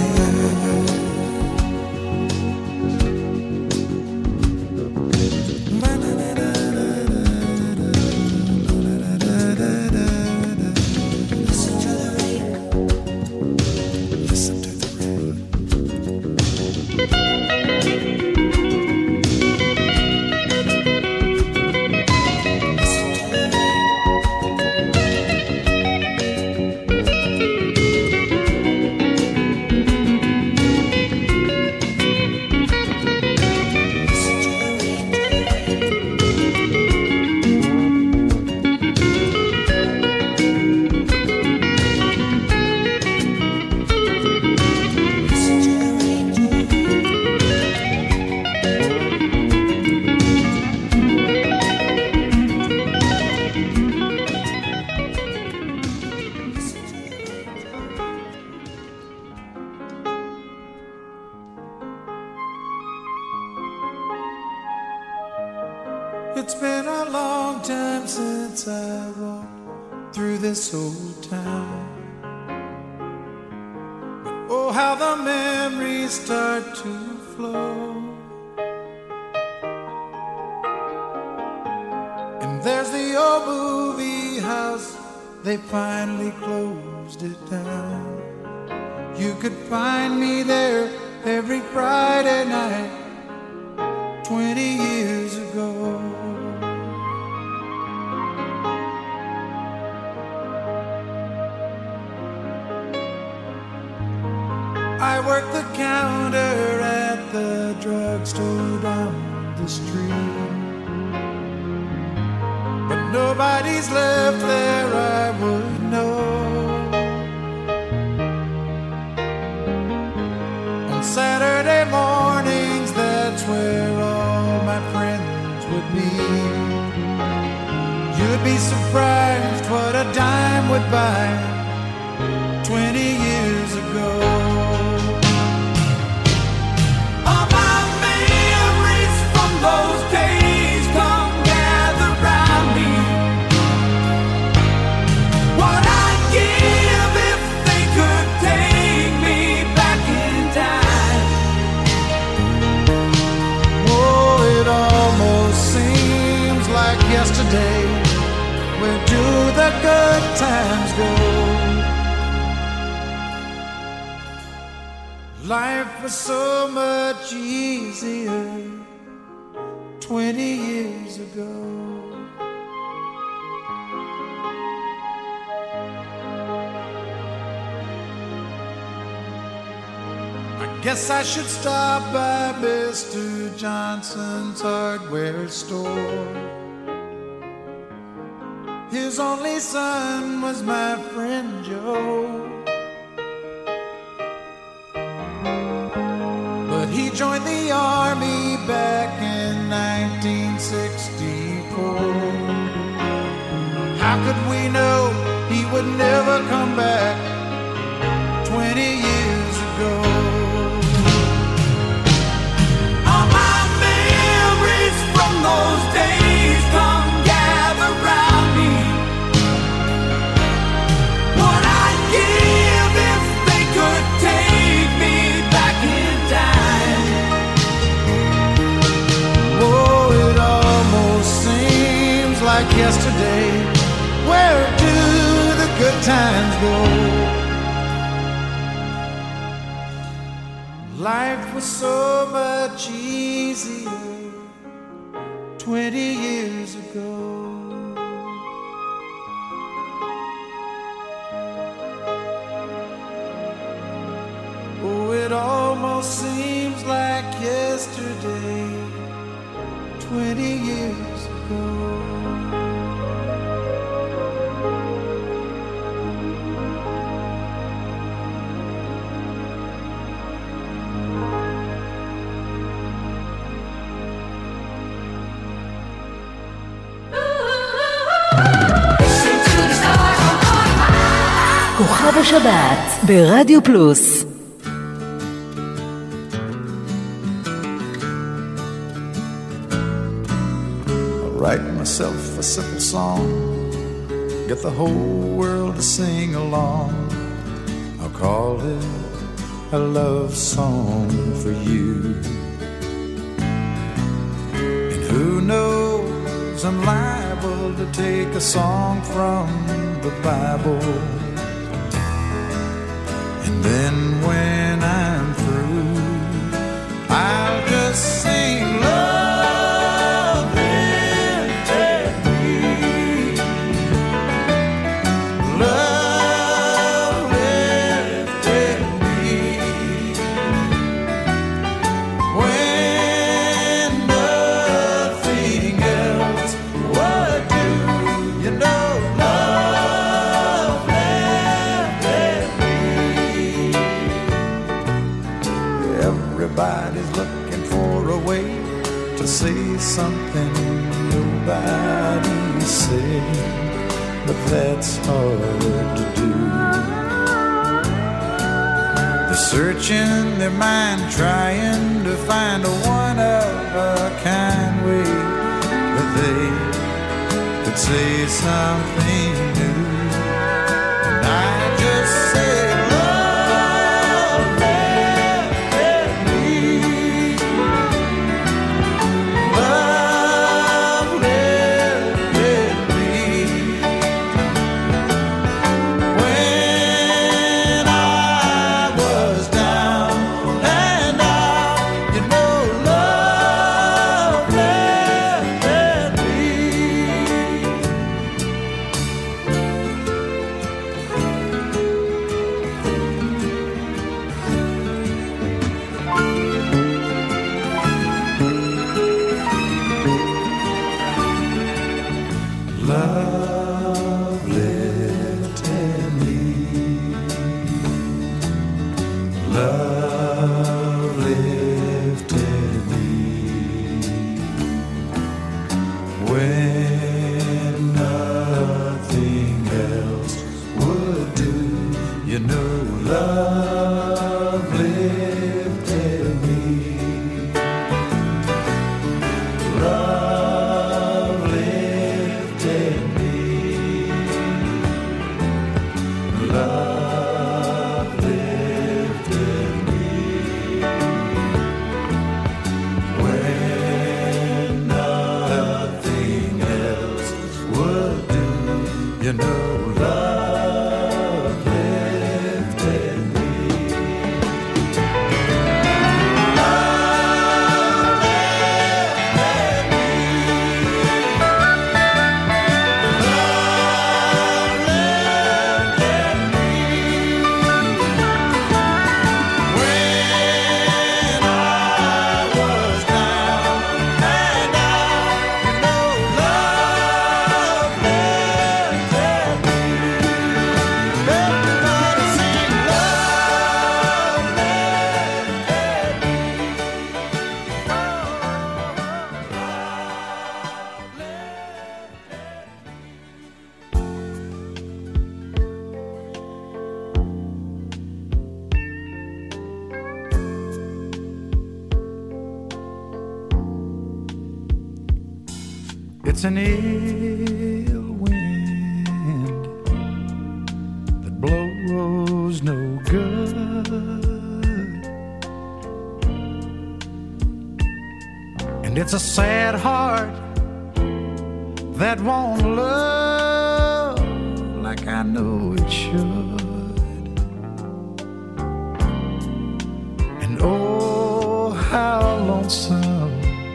It's been a long time since I walked through this old town. Oh, how the memories start to flow. And there's the old movie house, they finally closed it down. You could find me there every Friday night twenty years ago. I worked the counter at the drugstore down the street, but nobody's left there I would know. On Saturday mornings, that's where all my friends would meet. You'd be surprised what a dime would buy twenty years ago. Those days come gather round me. What I'd give if they could take me back in time. Oh, it almost seems like yesterday. Where do the good times go? Life was so much easier twenty years ago. I guess I should stop by Mister Johnson's hardware store. His only son was my friend Joe, but he joined the army back in nineteen sixty-four. How could we know he would never come back twenty years ago? All my memories from those days come gather round me. What I'd give yesterday. Where do the good times go? Life was so much easier twenty years ago. Oh, it almost seems like yesterday, twenty years ago. כוכב השבת ברדיו פלוס. Write myself a simple song, get the whole world to sing along. I'll call it a love song for you. And who knows, I'm liable to take a song from the Bible. And then when I'm through, I'll just sing love lifted me, love lifted me, when nothing else would do, you know, love lifted me. Everybody's looking for a way to say something nobody said, but that's hard to do. They're searching their mind, trying to find a one-of-a-kind way that they could say something new. And I just say love lifted me, love lifted me, when I was down and out, you know, love lifted me. Love lifted me, love lifted me, when nothing else would do, you know, love lifted me, love lifted me, love lifted me, when nothing else would do, you know, love lifted me. It's an ill wind that blows no good, and it's a sad heart that won't love like I know it should. And oh, how lonesome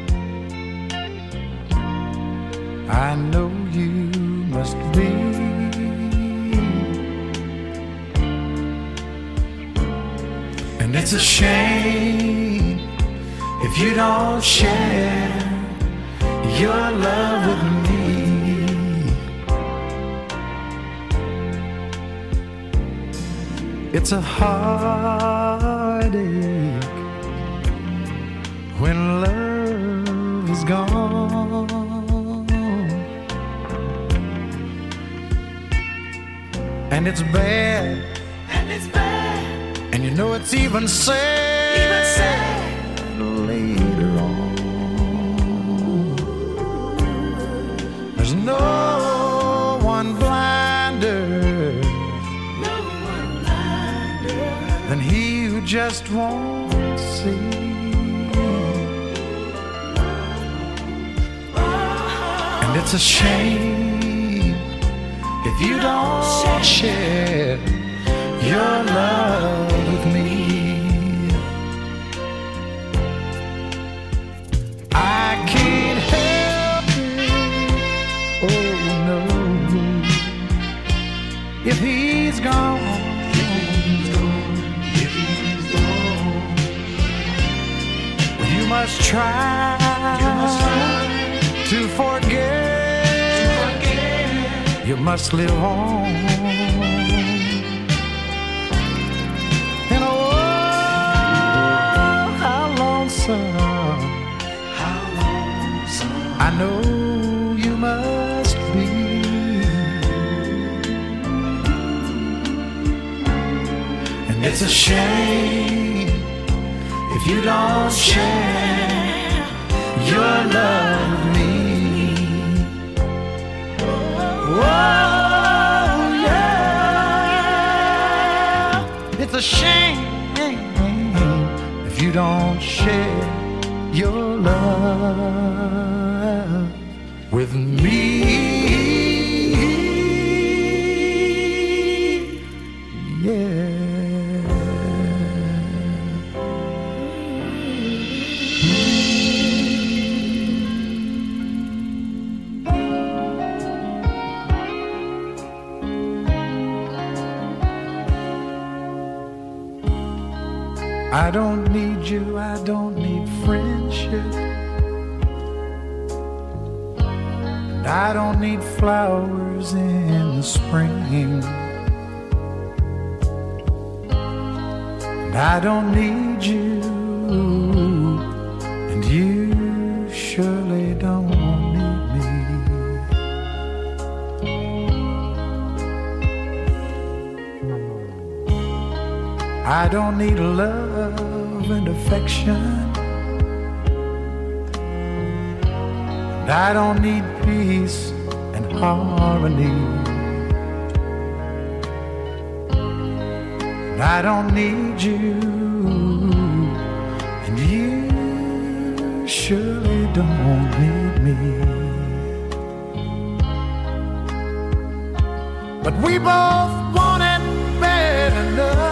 I know you must be. And it's a shame if you don't share your love with me. It's a heartache when love is gone, and it's bad, And it's bad, and you know it's even sad, even sad. later on. There's no one blinder No one blinder. than he who just won't see. And it's a shame if you don't share your love with me. I can't help it, oh no, if he's gone. You must try, You must try to forget. to forget. You must live on. And oh, how lonesome How lonesome I know you must be. And it's a shame if you don't share your love with me. Oh, yeah. It's a shame if you don't share your love with me. Yeah. I don't need you, I don't need friendship, and I don't need flowers in the spring, and I don't need you, and you surely don't need me. I don't need love and affection, and I don't need peace and harmony, and I don't need you, and you surely don't need me. But we both want it bad enough.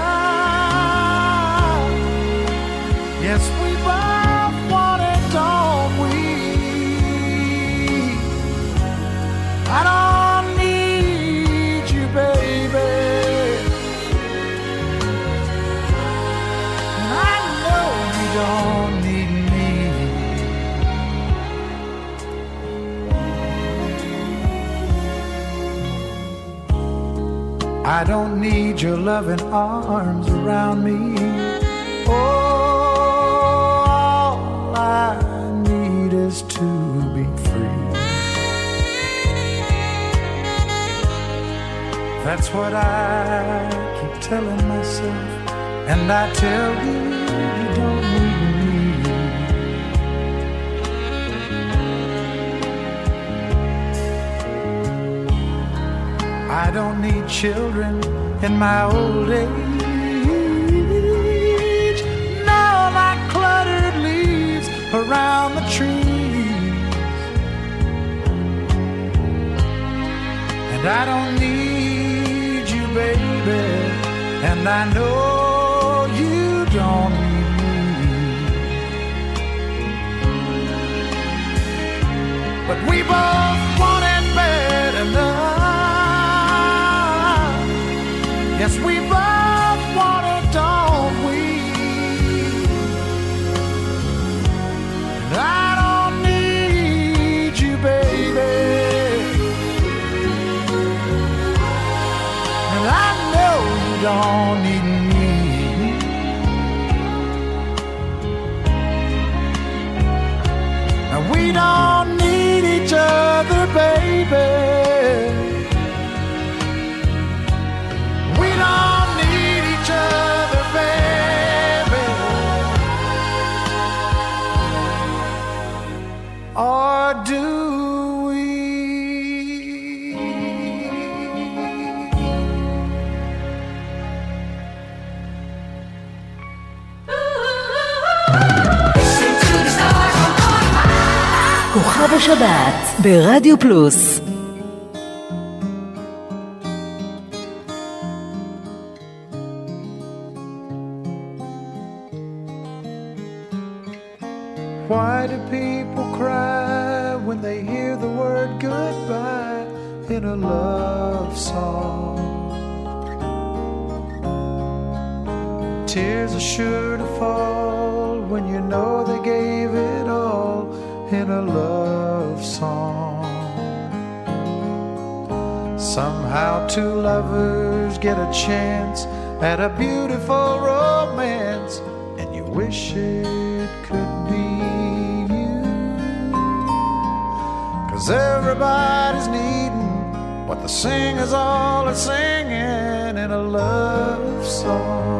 Yes, we both want it, don't we? I don't need you, baby, and I know you don't need me. I don't need your loving arms around me. All I need is to be free. That's what I keep telling myself, and I tell you, you don't need me. I don't need children in my old age, no, like cluttered leaves around the trees. And I don't need you, baby, and I know you don't need me. But we both want it bad enough. Yes, we both want it, don't we? And I don't need you, baby, and I know you don't need me. And we don't need each other, baby. We don't need each other, baby. Or do we? כוכב השבת ברדיו פלוס. Why do people cry when they hear the word goodbye in a love song? Tears are sure to fall when you know they gave it all in a love song. Somehow two lovers get a chance at a beautiful romance, and you wish it could be you. 'Cause everybody's needing what the singers all are singing in a love song.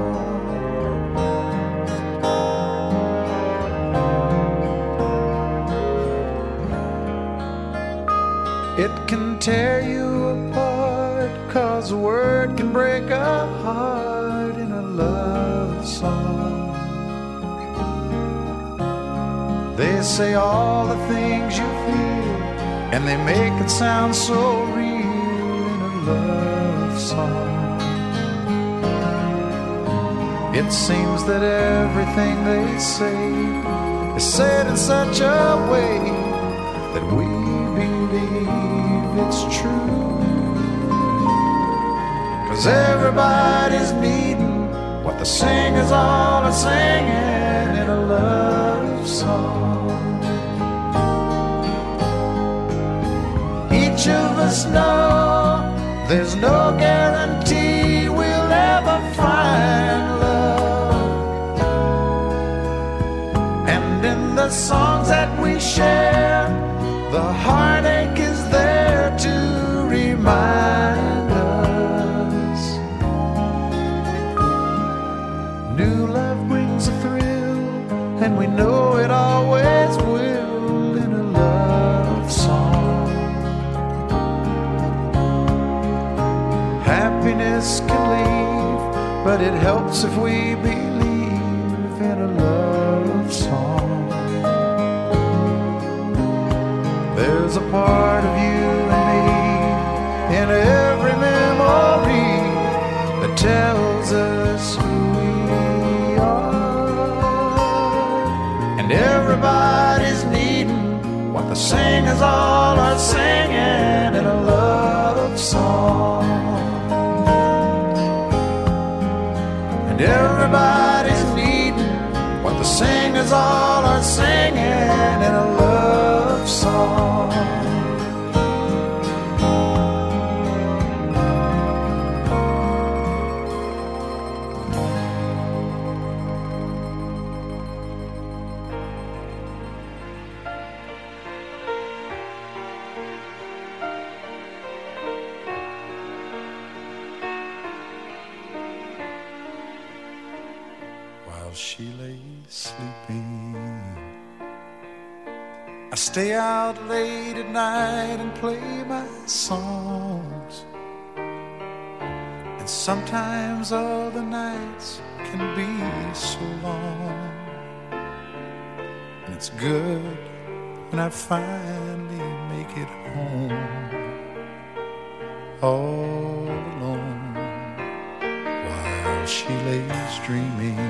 It can tear you apart, 'cause a word can break a heart in a love song. They say all the things you feel, and they make it sound so real in a love song. It seems that everything they say is said in such a way that we believe it's true. 'Cause everybody's needing what the singers all are singing in a love song. Each of us know there's no guarantee we'll ever find love. And in the songs that we share, the heartache is there to remind us. New love brings a thrill, and we know it always will in a love song. Happiness can leave, but it helps if we believe in a love song. There's a part of you and me in every memory that tells us who we are. And everybody's needing what the singers all are singing in a love song. And everybody's needing what the singers all are singing in a love song. While she lay sleeping, I stay out late at night and play my songs. And sometimes all the nights can be so long. And it's good when I finally make it home. all alone while she lays dreaming.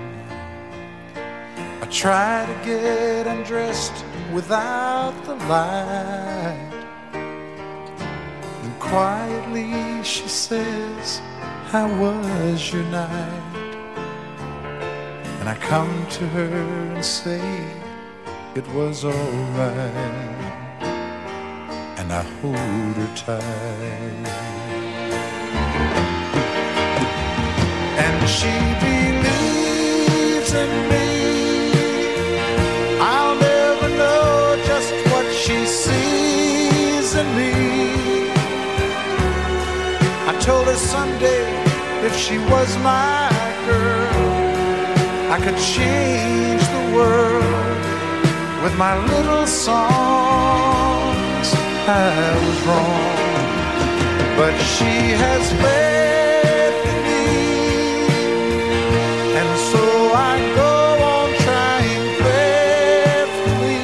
I try to get undressed without the light, and quietly she says, how was your night? And I come to her and say it was all right, and I hold her tight. And she believes in me. I'll never know just what she sees in me. I told her someday if she was my girl, I could change the world with my little songs. I was wrong, but she has faith in me, and so I go on trying faithfully.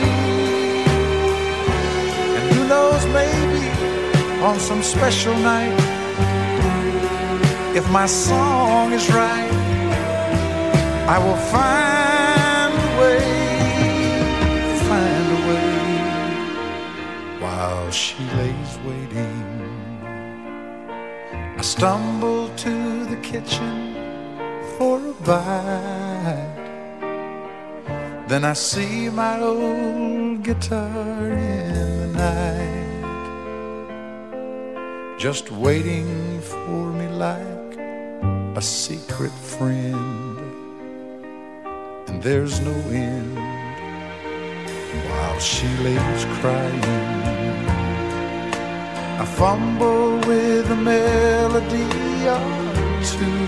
And who knows, maybe on some special night, if my song is right, I will find a way, find a way, while she lays waiting. I stumble to the kitchen for a bite, then I see my old guitar in the night, just waiting for me like a secret friend. And there's no end while she lays crying. I fumble with a melody or two,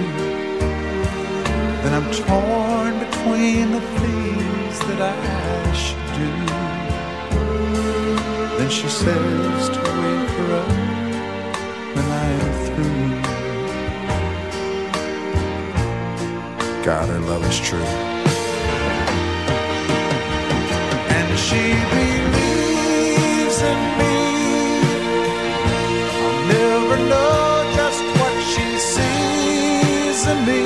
then I'm torn between the things that I should do. Then she says to wake her up when I am through. God, her love is true. And she believes in me. I'll never know just what she sees in me.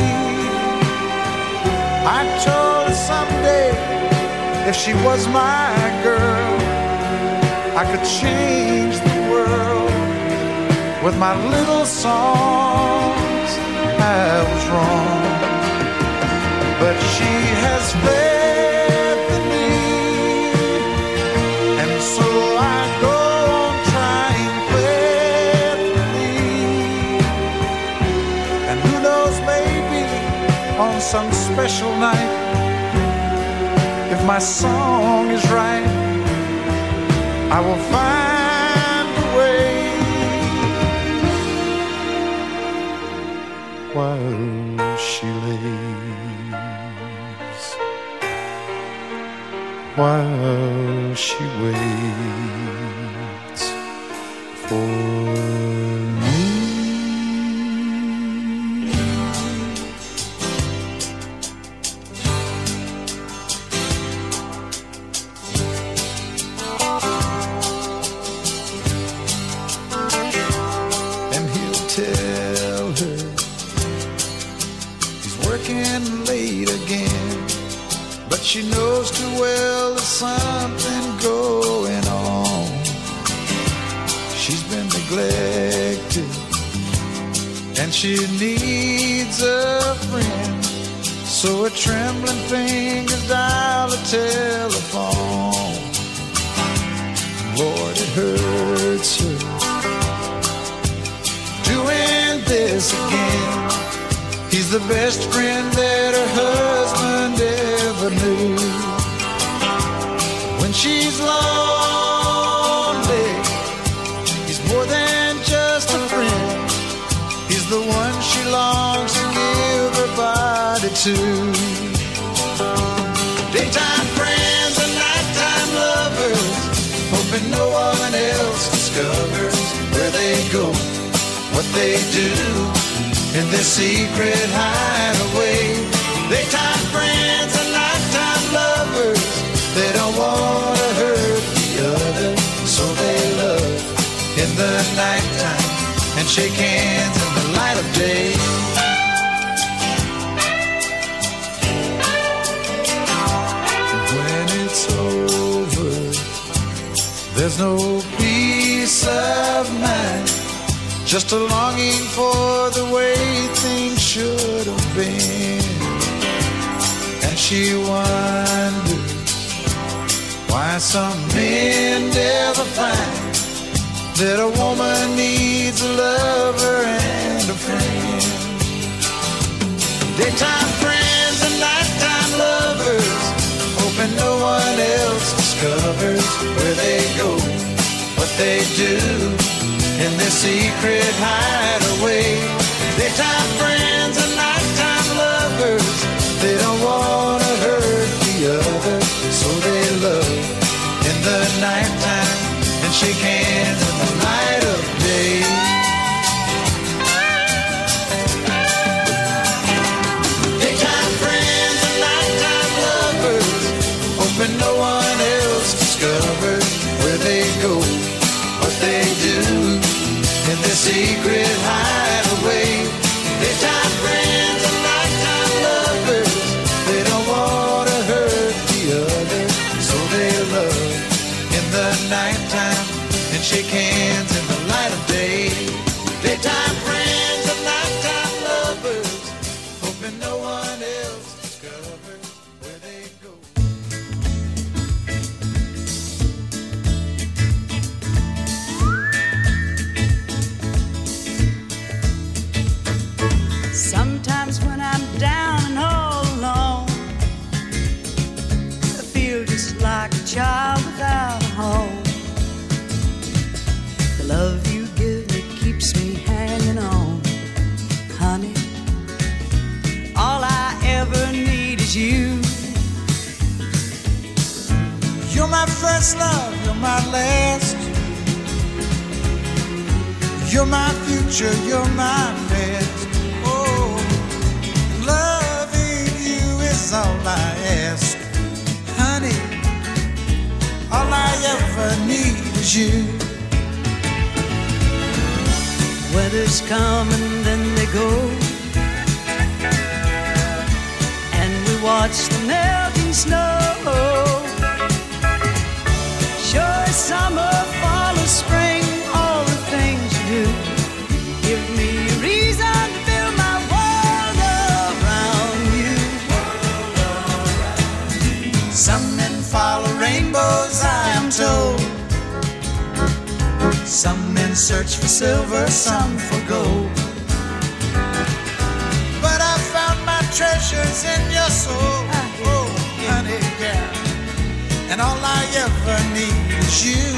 I told her someday if she was my girl, I could change the world with my little songs. I was wrong, but she has faith in me, and so I go on trying faithfully. And who knows, maybe on some special night, if my song is right, I will find a way. While she lays, while she waits for me. And he'll tell her he's working late again, but she knows too well there's something going on. She's been neglected, and she needs a friend. So her trembling fingers dial the telephone. Lord, it hurts her doing this again. He's the best friend that her husband ever knew. When she's lonely, he's more than just a friend. He's the one she longs to give her body to. Daytime friends and nighttime lovers, hoping no one else discovers where they go, what they do in their secret hideaway. Daytime friends and nighttime lovers, they don't want to hurt the other, so they love in the nighttime There's no peace of mind, just a longing for the way things should have been. And she wonders why some men never find that a woman needs a lover and a friend. Daytime friends and nighttime lovers, hoping no one else discovers where they go, what they do in their secret hideaway. Daytime friends and nighttime lovers, they don't want to hurt the other, so they love in the nighttime and shake hands in the light of day. Daytime friends and nighttime lovers, hoping no one else discovers where they go, what they do in their secret hideaway. Daytime friends and nighttime lovers, they don't want to hurt the other, so they love in the nighttime and shake hands in the light of day. Daytime friends and nighttime lovers, hoping no one else discovers where they go. Sometimes when I'm down and all alone, I feel just like a child without a home. The love you give me keeps me hanging on, honey. All I ever need is you. You're my first love, you're my last. You're my future, you're my best. Oh, loving you is all I ask, honey. All I ever need is you. Weathers come and then they go, and we watch the melting snow. Sure, summer, fall, or spring, all the things you do give me a reason to build my world around you. Some men follow rainbows, I am told. Some men search for silver, some for gold. But I found my treasures in your soul, oh, honey, yeah. And all I ever need is you.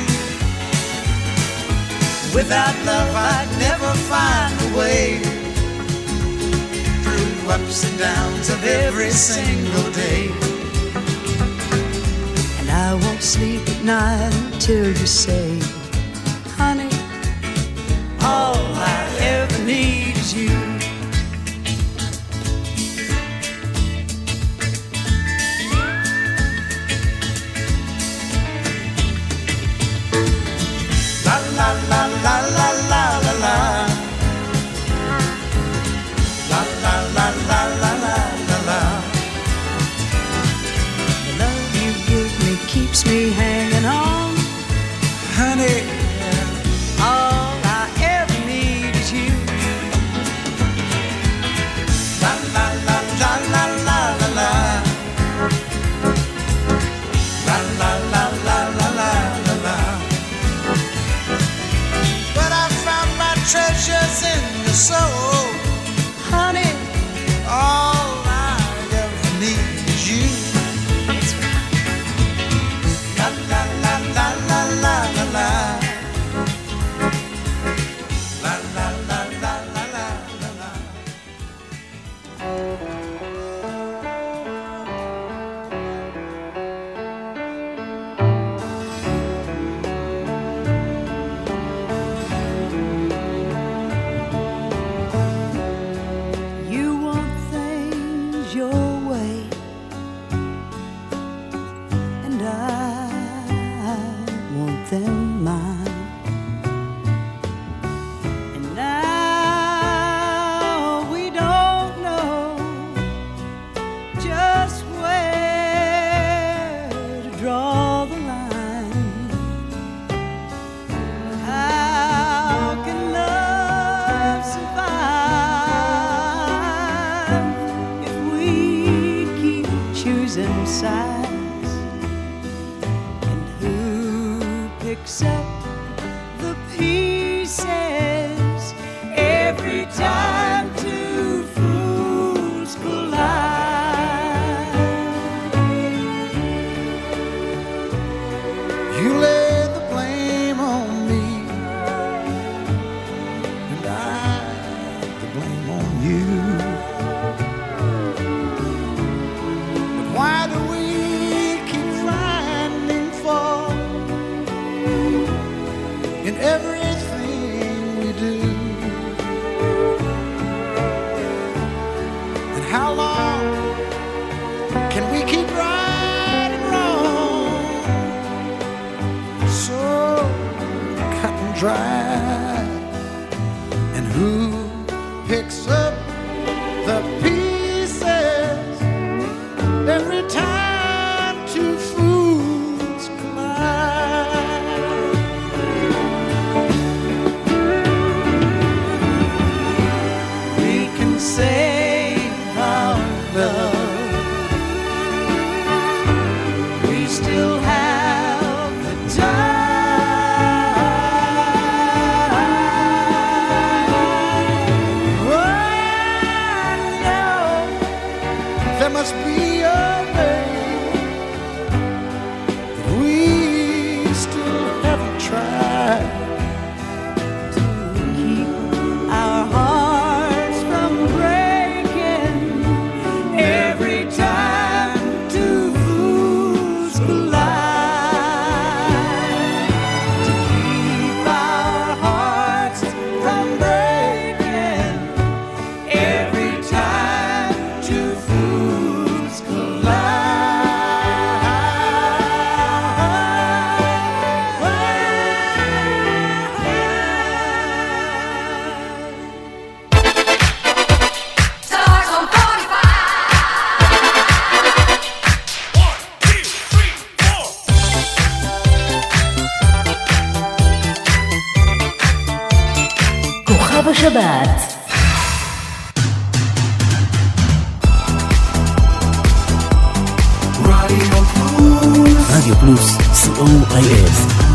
Without love I'd never find a way through ups and downs of every single day. And I won't sleep at night until you say, honey, all I ever need is you. La la la la la la la la. La la la la la la la la. The love you give me keeps me hanging on, Honey, all I ever need is you. la la la la la la la la. La la la la la la la la. But I found my treasures in your soul, Honey, all I ever need is you. La la la la la la la la. La la la la la la la la. you want things your way, and I want them mine. And now we don't know and sighs, and who picks up the pieces every time two fools collide. You laid the blame on me, and I the blame on you. But why do we keep finding fault in everything we do? And how long can we keep right and wrong so cut and dry? And who picks up the pieces every time two fools collide? We can save our love, we still have the time. Oh, I know there must be a way that we still haven't tried To keep our hearts from breaking every time two fools collide. To keep our hearts from breaking every time two fools collide. Stars on כוכב השבת. רדיו פלוס, סי או איי אס.